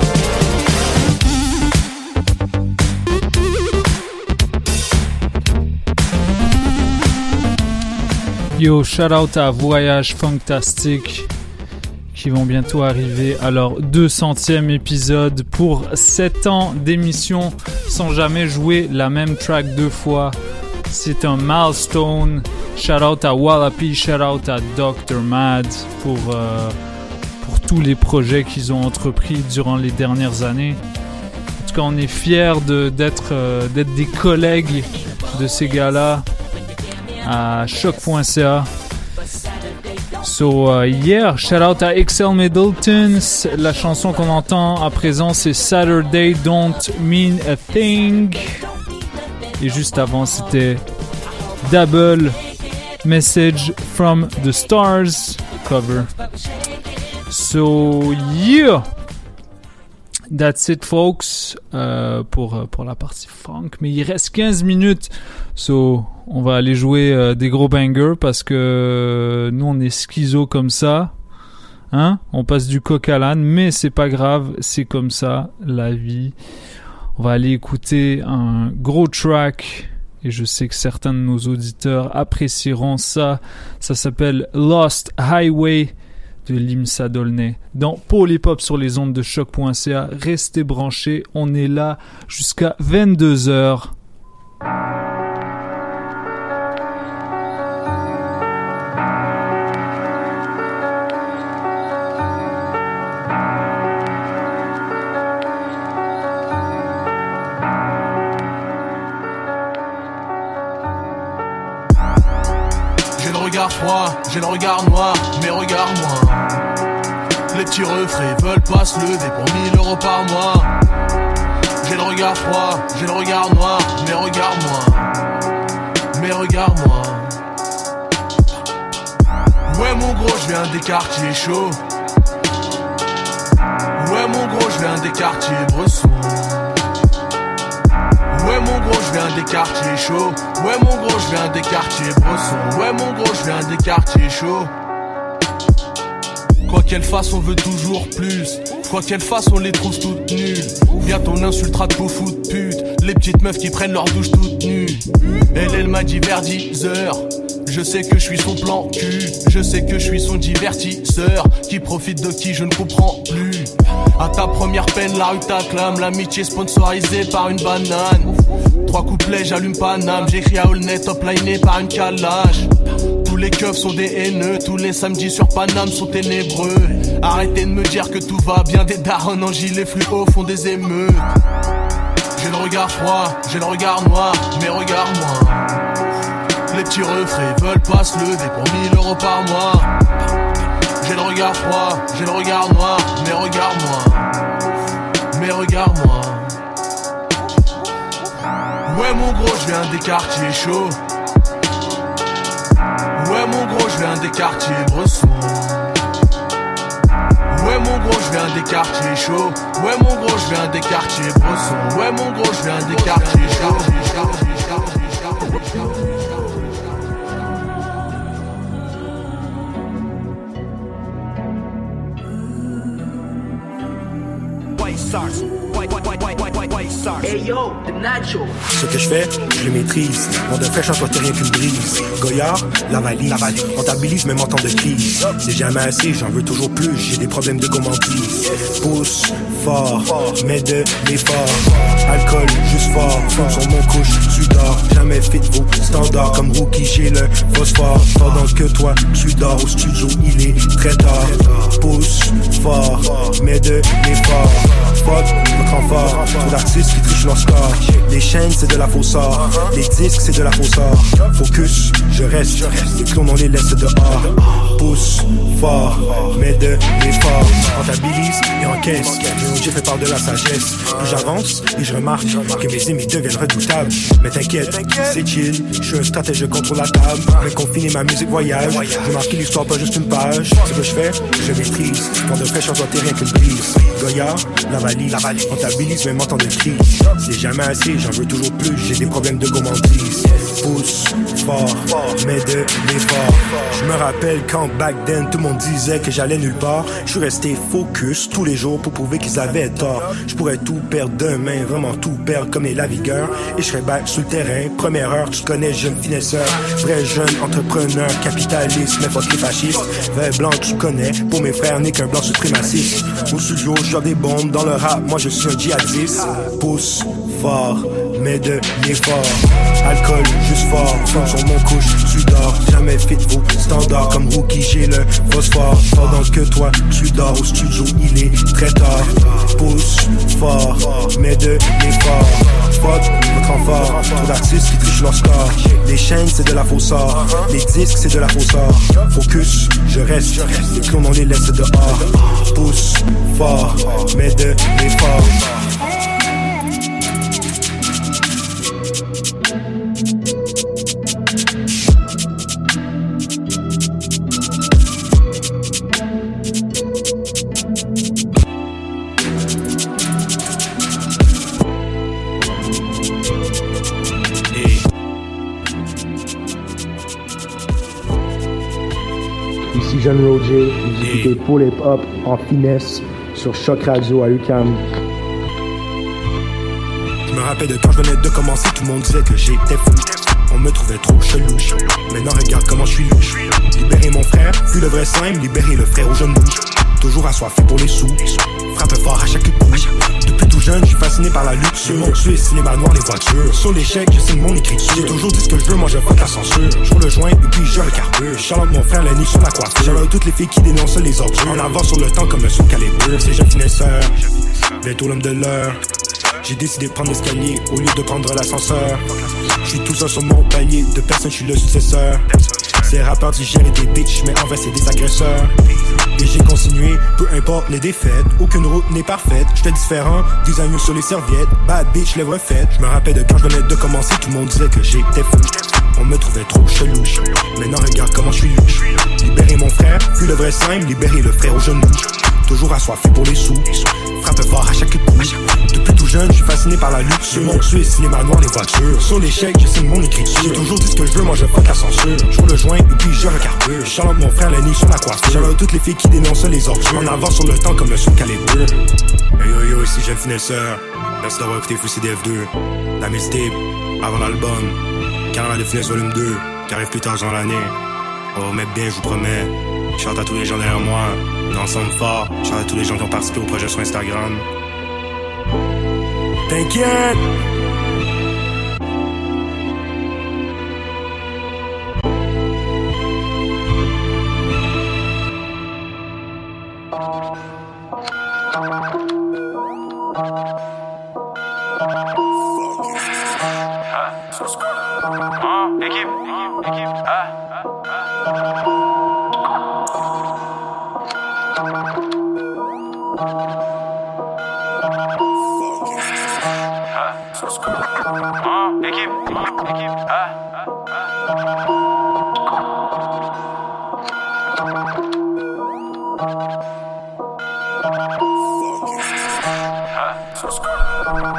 Yo, shout out à Voyage Fantastique qui vont bientôt arriver à leur 200e épisode pour 7 ans d'émission sans jamais jouer la même track 2 fois. C'est un milestone. Shout out à Wallapie, shout out à Dr. Mad pour tous les projets qu'ils ont entrepris durant les dernières années. En tout cas, on est fiers d'être des collègues de ces gars-là à choc.ca. So yeah, shout out à XL Middleton. La chanson qu'on entend à présent c'est Saturday Don't Mean a Thing. Et juste avant c'était Double Message from the Stars cover. So yeah, that's it folks pour la partie funk. Mais il reste 15 minutes. So on va aller jouer des gros bangers parce que nous on est schizo comme ça, hein? On passe du coq à l'âne, mais c'est pas grave, c'est comme ça la vie. On va aller écouter un gros track et je sais que certains de nos auditeurs apprécieront ça. Ça s'appelle Lost Highway de Limsa Dolnay dans Polypop sur les ondes de choc.ca. Restez branchés, on est là jusqu'à 22h. J'ai le regard noir, mais regarde-moi. Les petits refrains veulent pas se lever pour 1000 € par mois. J'ai le regard froid, j'ai le regard noir, mais regarde-moi. Mais regarde-moi. Ouais mon gros, je viens des quartiers chauds. Ouais mon gros, je viens des quartiers bressons. Ouais mon gros, je viens des quartiers chauds. Ouais mon gros, je viens des quartiers bressons. Ouais mon gros, je viens des quartiers chauds. Quoi qu'elle fasse, on veut toujours plus. Quoi qu'elle fasse, on les trouve toutes nulles. Bientôt on insultera de beaux fous de pute. Les petites meufs qui prennent leur douche toutes nues. Elle m'a dit vers 10h. Je sais que je suis son plan cul. Je sais que je suis son divertisseur. Qui profite de qui je ne comprends plus. À ta première peine, la rue t'acclame. L'amitié sponsorisée par une banane. 3 couplets, j'allume Paname. J'écris à Aulnay, top liné par une calage. Tous les keufs sont des haineux. Tous les samedis sur Paname sont ténébreux. Arrêtez de me dire que tout va bien. Des darons en gilet fluo font des émeutes. J'ai le regard froid, j'ai le regard noir, mais regarde-moi. Les petits refrains veulent pas se lever pour 1000 € par mois. J'ai le regard froid, j'ai le regard noir, mais regarde-moi. Mais regarde-moi. Ouais mon gros, je viens des quartiers chauds. Ouais mon gros, je viens des quartiers bressons. Ouais mon gros, je viens des quartiers chauds. Ouais mon gros, je viens des quartiers bressons. Ouais mon gros, je viens des quartiers chauds. Hey yo, the Nacho. Ce que je fais, je le maîtrise. Mon de fraîche en toi, t'es rien qu'une brise. Goyard, la valise. Comptabilise même en temps de crise. C'est jamais assez, j'en veux toujours plus. J'ai des problèmes de gourmandise. Pousse fort, mais de l'effort. Alcool, juste fort. Fond sur mon couche, tu dors. Jamais fit vos standards. Comme rookie, j'ai le phosphore. Pendant que toi, tu dors au studio, il est très tard. Pousse fort, mais de l'effort. Fuck, votre renfort. Trop d'artistes qui trichent leur score. Les chaînes, c'est de la fausse or. Les disques, c'est de la fausse or. Focus, je reste. Les clones, on les laisse dehors. Pousse fort, mais de l'effort. Comptabilise et encaisse. J'ai fait part de la sagesse. Plus j'avance et je remarque que mes ennemis deviennent redoutables. Mais t'inquiète, c'est chill. Je suis un stratège, je contrôle la table. Mais confiner ma musique voyage. Je marque l'histoire, pas juste une page. Ce que je fais, je maîtrise. Quand de fraîcheur doit rien qu'une brise. Goyard, la valise. Comptabilise même en temps de crise. C'est jamais assez, j'en veux toujours plus. J'ai des problèmes de gourmandise. Pousse fort, mais de l'effort. Je me rappelle quand back then tout le monde disait que j'allais nulle part. Je suis resté focus tous les jours pour prouver qu'ils avaient tort. Je pourrais tout perdre demain, vraiment tout perdre comme les lavigueurs. Et je serais back sur le terrain. Première heure, tu connais, jeune finesseur. Vrai jeune entrepreneur, capitaliste, mais fuck les fascistes. Vert blanc, tu connais. Pour mes frères, n'est qu'un blanc suprémaciste. Au studio, je des bombes dans le rap. Moi, je suis un djihadiste. Pousse fort, mais de l'effort. Alcool, juste fort, fond sur mon couche, tu dors. Jamais fit vos standards, comme rookie, j'ai le phosphore. Pendant que toi, tu dors au studio, il est très tard. Pousse fort, mais de l'effort. Fuck, votre renfort, trop d'artistes qui trichent leur score. Les chaînes, c'est de la fausse or. Les disques, c'est de la fausse or. Focus, je reste. Les clones, on les laisse dehors. Pousse fort, mais de l'effort. Ici Jeune Roger, vous écoutez Full Hip Hop en finesse sur Choc Radio à UQAM. Je me rappelle de quand je venais de commencer, tout le monde disait que j'étais fou. On me trouvait trop chelouche. Maintenant regarde comment je suis louche. Libérer mon frère, fut le vrai simple, libérer le frère aux jeunes bouches. Toujours assoiffé pour les sous, frappe fort à chaque coup. Depuis tout jeune, je suis fasciné par la luxure. Mon Suisse, cinéma noir, les voitures. Sur l'échec, je signe mon écriture. J'ai toujours dit ce que je veux, moi je fuck la censure. Je roule le joint et puis je recarbure. Charlotte, mon frère, la nuit sur la coiffure. Charlotte, toutes les filles qui dénoncent les ordures. En avant sur le temps comme un saut calibre. C'est jeune finesseur, bientôt l'homme de l'heure. J'ai décidé de prendre l'escalier au lieu de prendre l'ascenseur. Je suis tout seul sur mon palier, de personne je suis le successeur. Ces rappeurs digèrent des bitches, mais en vrai c'est des agresseurs. Et j'ai continué, peu importe les défaites. Aucune route n'est parfaite, j'étais différent, designer sur les serviettes. Bad bitch, lèvres faites. Je me rappelle de quand je venais de commencer, tout le monde disait que j'étais fou. On me trouvait trop chelouche. Maintenant regarde comment je suis louche. Libérer mon frère, fut le vrai simple, libérer le frère aux jeunes bouches. Toujours assoiffé pour les sous, frappe fort à chaque coup. Depuis tout jeune, je suis fasciné par la luxure. Mon Suisse, cinéma noir, les voitures. Sur l'échec, je signe mon écriture. J'ai toujours dit ce que je veux, moi je fuck la censure. Je roule le joint et puis je recarbure. Charlotte, mon frère, la nuit sur la coiffure. Charlotte, toutes les filles qui dénoncent les ordures. En avant sur le temps comme un saut calibre. Hey yo yo, ici jeune finesseur. Merci d'avoir écouté Fou CDF2. La mixtape, avant l'album. Carnaval de finesse volume 2, qui arrive plus tard dans l'année. On va remettre bien, je vous promets. Je chante à tous les gens derrière moi, ensemble fort. Je chante à tous les gens qui ont participé au projet sur Instagram. T'inquiète! Fuck.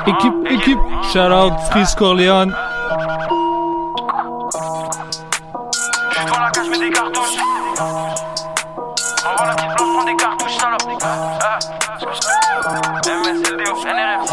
Équipe. Shout out Freeze Corleone. Devant la cage, je mets des cartouches. Envoie la petite blanche, prends des cartouches, salope. MSLDO, NRF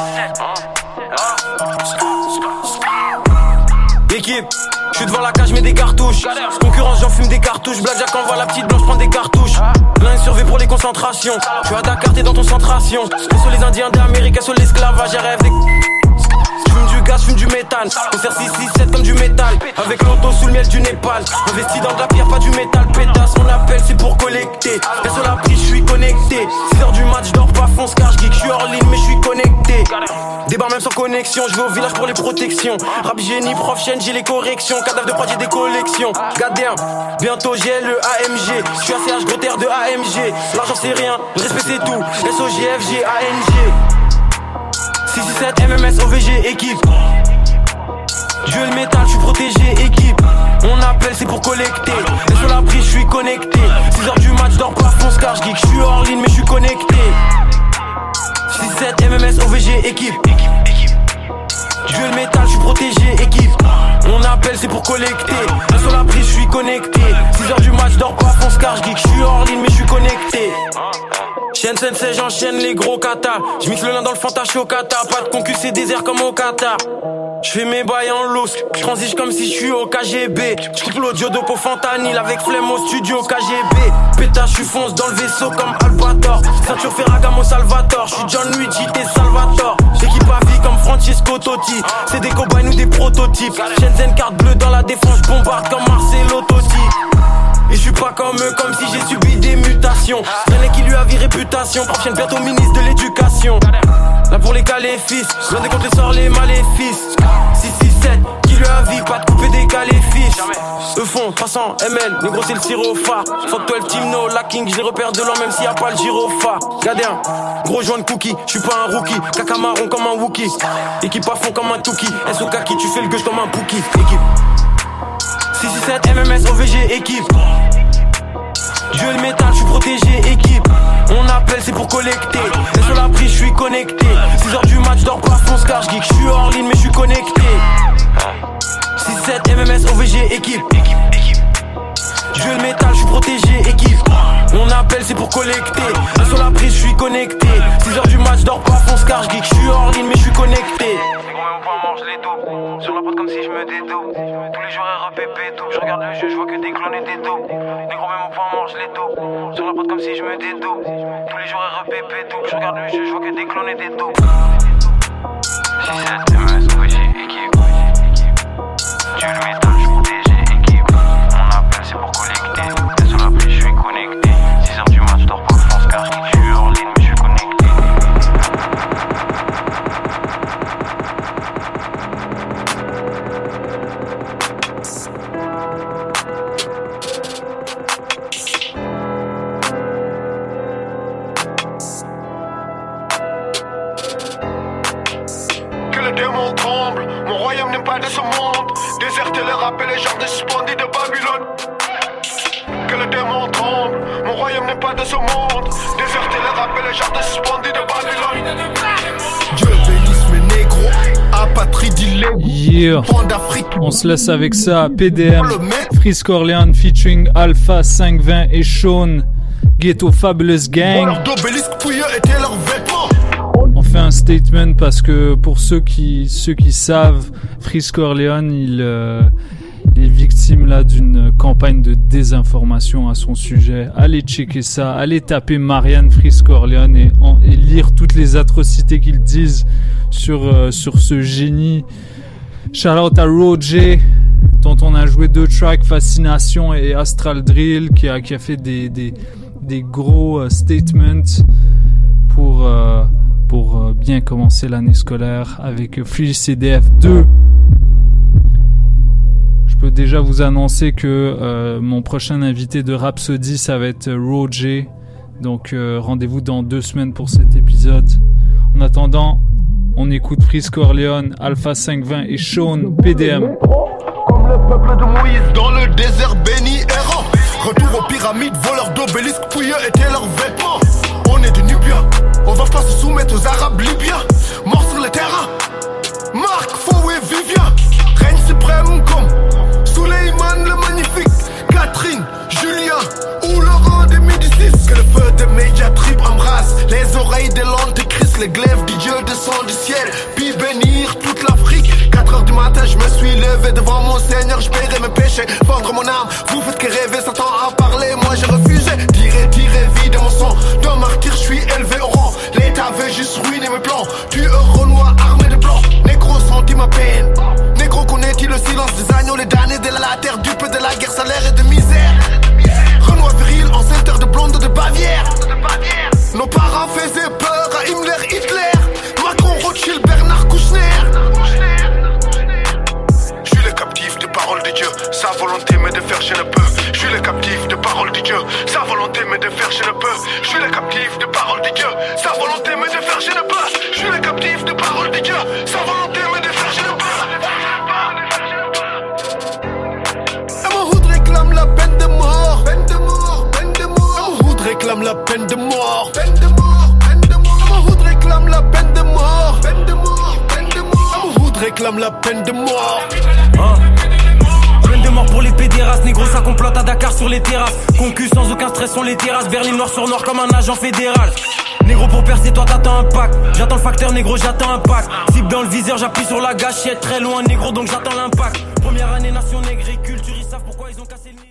17. Équipe, je suis devant la cage, je mets des cartouches. Concurrence, j'en fume des cartouches. Blackjack envoie la petite blanche, prends des cartouches. L'un est surveillé pour les concentrations. Je suis à Dakar, t'es dans ton centration. Sur les Indiens d'Amérique, sur l'esclavage, j'ai rêve des... J'fume du gaz, j'fume du métal. On sert 667 comme du métal. Avec l'auto sous le miel du Népal. Investi dans de la pierre, pas du métal. Pétasse, on appelle, c'est pour collecter. Reste sur la prise, j'suis connecté. 6h du match, j'dors pas, fonce car j'geek. J'suis hors ligne, mais j'suis connecté. Débarre même sans connexion, j'vais au village pour les protections. Rap génie, prof chaîne, j'ai les corrections. Cadavre de prod, j'ai des collections. Gadien, bientôt j'ai le AMG. J'suis ACH, gros terre de AMG. L'argent c'est rien, le respect c'est tout. SOGFG, ANG. 667 MMS OVG équipe. Dieu le métal, je suis protégé équipe. On appelle c'est pour collecter. Et sur la prise je suis connecté. 6h du match dors pas fonce car je geek. Je suis hors ligne mais je suis connecté. 667 MMS OVG équipe. Dieu le métal, je suis protégé équipe. On appelle c'est pour collecter. Et sur la prise je suis connecté. 6h du match dors pas fonce car je geek. Je suis hors ligne mais je suis connecté. Chaîne sensei, j'enchaîne les gros katas. J'mixe le lin dans le fanta, j'suis au kata. Pas de concu, c'est désert comme au Qatar. J'fais mes bails en loose, j'transige comme si j'suis au KGB. J'coupe l'audio de Fentanyl avec flemme au studio KGB. Pétage, j'suis fonce dans le vaisseau comme Albator. Ceinture Ferragamo Salvatore, j'suis John Luigi, t'es Salvatore. Équipe à vie comme Francesco Totti. C'est des cobayes ou des prototypes. Shenzhen carte bleue dans la défense, j'bombarde comme Marcelo Totti. Et je suis pas comme eux, comme si j'ai subi des mutations. Traîné qui lui a vie réputation. Prochaine bientôt ministre de l'éducation. Là pour les caléfis, l'un des comptes les sort les maléfices. 667, qui lui a vie, pas de couper des caléfis. Eux font 300 ml, négro c'est le sirop phare. Fuck 12 team no lacking, je les repère de loin même s'il y a pas le gyrophare. Gadin, gros joint de cookie, je suis pas un rookie. Caca marron comme un Wookie. Équipe à fond comme un Touki. SOKaki, tu fais le gueule comme un Pookie. Équipe 667 MMS OVG équipe. Dieu le métal, je suis protégé équipe. On appelle c'est pour collecter. Et sur la prise je suis connecté. 6h du match dors pas fonce car je geek. Je suis hors ligne mais je suis connecté. 6-7 MMS OVG équipe. Dieu le métal, je suis protégé équipe. On appelle c'est pour collecter. Et sur la prise je suis connecté. 6h du match dors pas fonce car je geek. Je suis hors ligne mais je suis connecté. Mange les dos, sur la pote comme si je me dédo. Tous les jours REPP tout. Je regarde le jeu, je vois que des clones et des dos. Négro même au point mange les dos. Sur la pote comme si je me dédo. Tous les jours REPP tout. Je regarde le jeu, je vois que des clones et des dos. 6-7 MS OVG équipe. Dieu le métal, je suis protégé équipe. On appelle c'est pour collecter. Et sur la prise je suis connecté. 6h du match, je dors pas France car je suis hors ligne mais je suis connecté. Mon royaume n'est pas de ce monde. Déserter le rap et les gens de suspendus de Babylone. Que le démon tremble. Mon royaume n'est pas de ce monde. Déserter le rap et les gens de suspendus de Babylone. Dieu bénisse mes négros. Apatride Yeah. On se laisse avec ça. PDM, Freeze Corleone featuring Alpha 520 et Sean. Ghetto Fabulous Gang. On fait un statement parce que pour ceux qui savent, Freeze Corleone, il est victime là d'une campagne de désinformation à son sujet. Allez checker ça, allez taper Marianne Freeze Corleone et lire toutes les atrocités qu'ils disent sur ce génie. Shout out à Roger, dont on a joué 2 tracks, Fascination et Astral Drill, qui a fait des gros statements pour bien commencer l'année scolaire avec Free CDF 2. Je peux déjà vous annoncer que mon prochain invité de Rhapsody, ça va être Roger. Donc rendez-vous dans 2 semaines pour cet épisode. En attendant, on écoute Freeze Corleone, Alpha 520 et Sean PDM. Comme le peuple de Moïse dans le désert béni errant. Retour aux pyramides, voleurs d'obélisques, pouilleux étaient leurs vêtements. On est de Nubia, on va pas se soumettre aux Arabes libyens. Morts sur les terrains, mais devant mon Seigneur je paierai mes péchés. Vendre mon âme, vous faites que rêver, Satan a parlé, moi j'ai refusé. Tirer vie de mon sang, d'un martyr je suis élevé au rang. L'État veut juste ruiner mes plans, tueur renois armé de blanc. Négro sentit ma peine, négro connaît-il le silence des agneaux, les damnés de la terre, dupe de la guerre, salaire et de misère. Renoir viril, ancêtre de blonde de Bavière. Nos parents faisaient peur à Himmler, Hitler, Macron, Rothschild, Bernard Kouchner. Je suis le captif de parole de Dieu, sa volonté mais de faire je ne peux. Je suis le captif de parole de Dieu, sa volonté mais de faire je ne peux. Je suis le captif de parole de Dieu, sa volonté mais de faire je ne peux. Je suis le captif de parole de Dieu, sa volonté mais de faire je ne peux. Et mon hood réclame la peine de mort. Peine de mort, peine de mort. Mon hood réclame la peine de mort. Peine de mort, peine de mort. Mon hood réclame la peine de mort. Peine de mort, peine de mort. Mon hood réclame la peine de mort. Peine de mort pour les pédérastes, négro ça complote à Dakar sur les terrasses. Concu sans aucun stress sur les terrasses, Berlin noir sur noir comme un agent fédéral. Négro pour percer toi t'attends un pack. J'attends le facteur négro j'attends un pack. Cible dans le viseur j'appuie sur la gâchette. Très loin négro donc j'attends l'impact. Première année nation négre et culture ils savent pourquoi ils ont cassé le nez.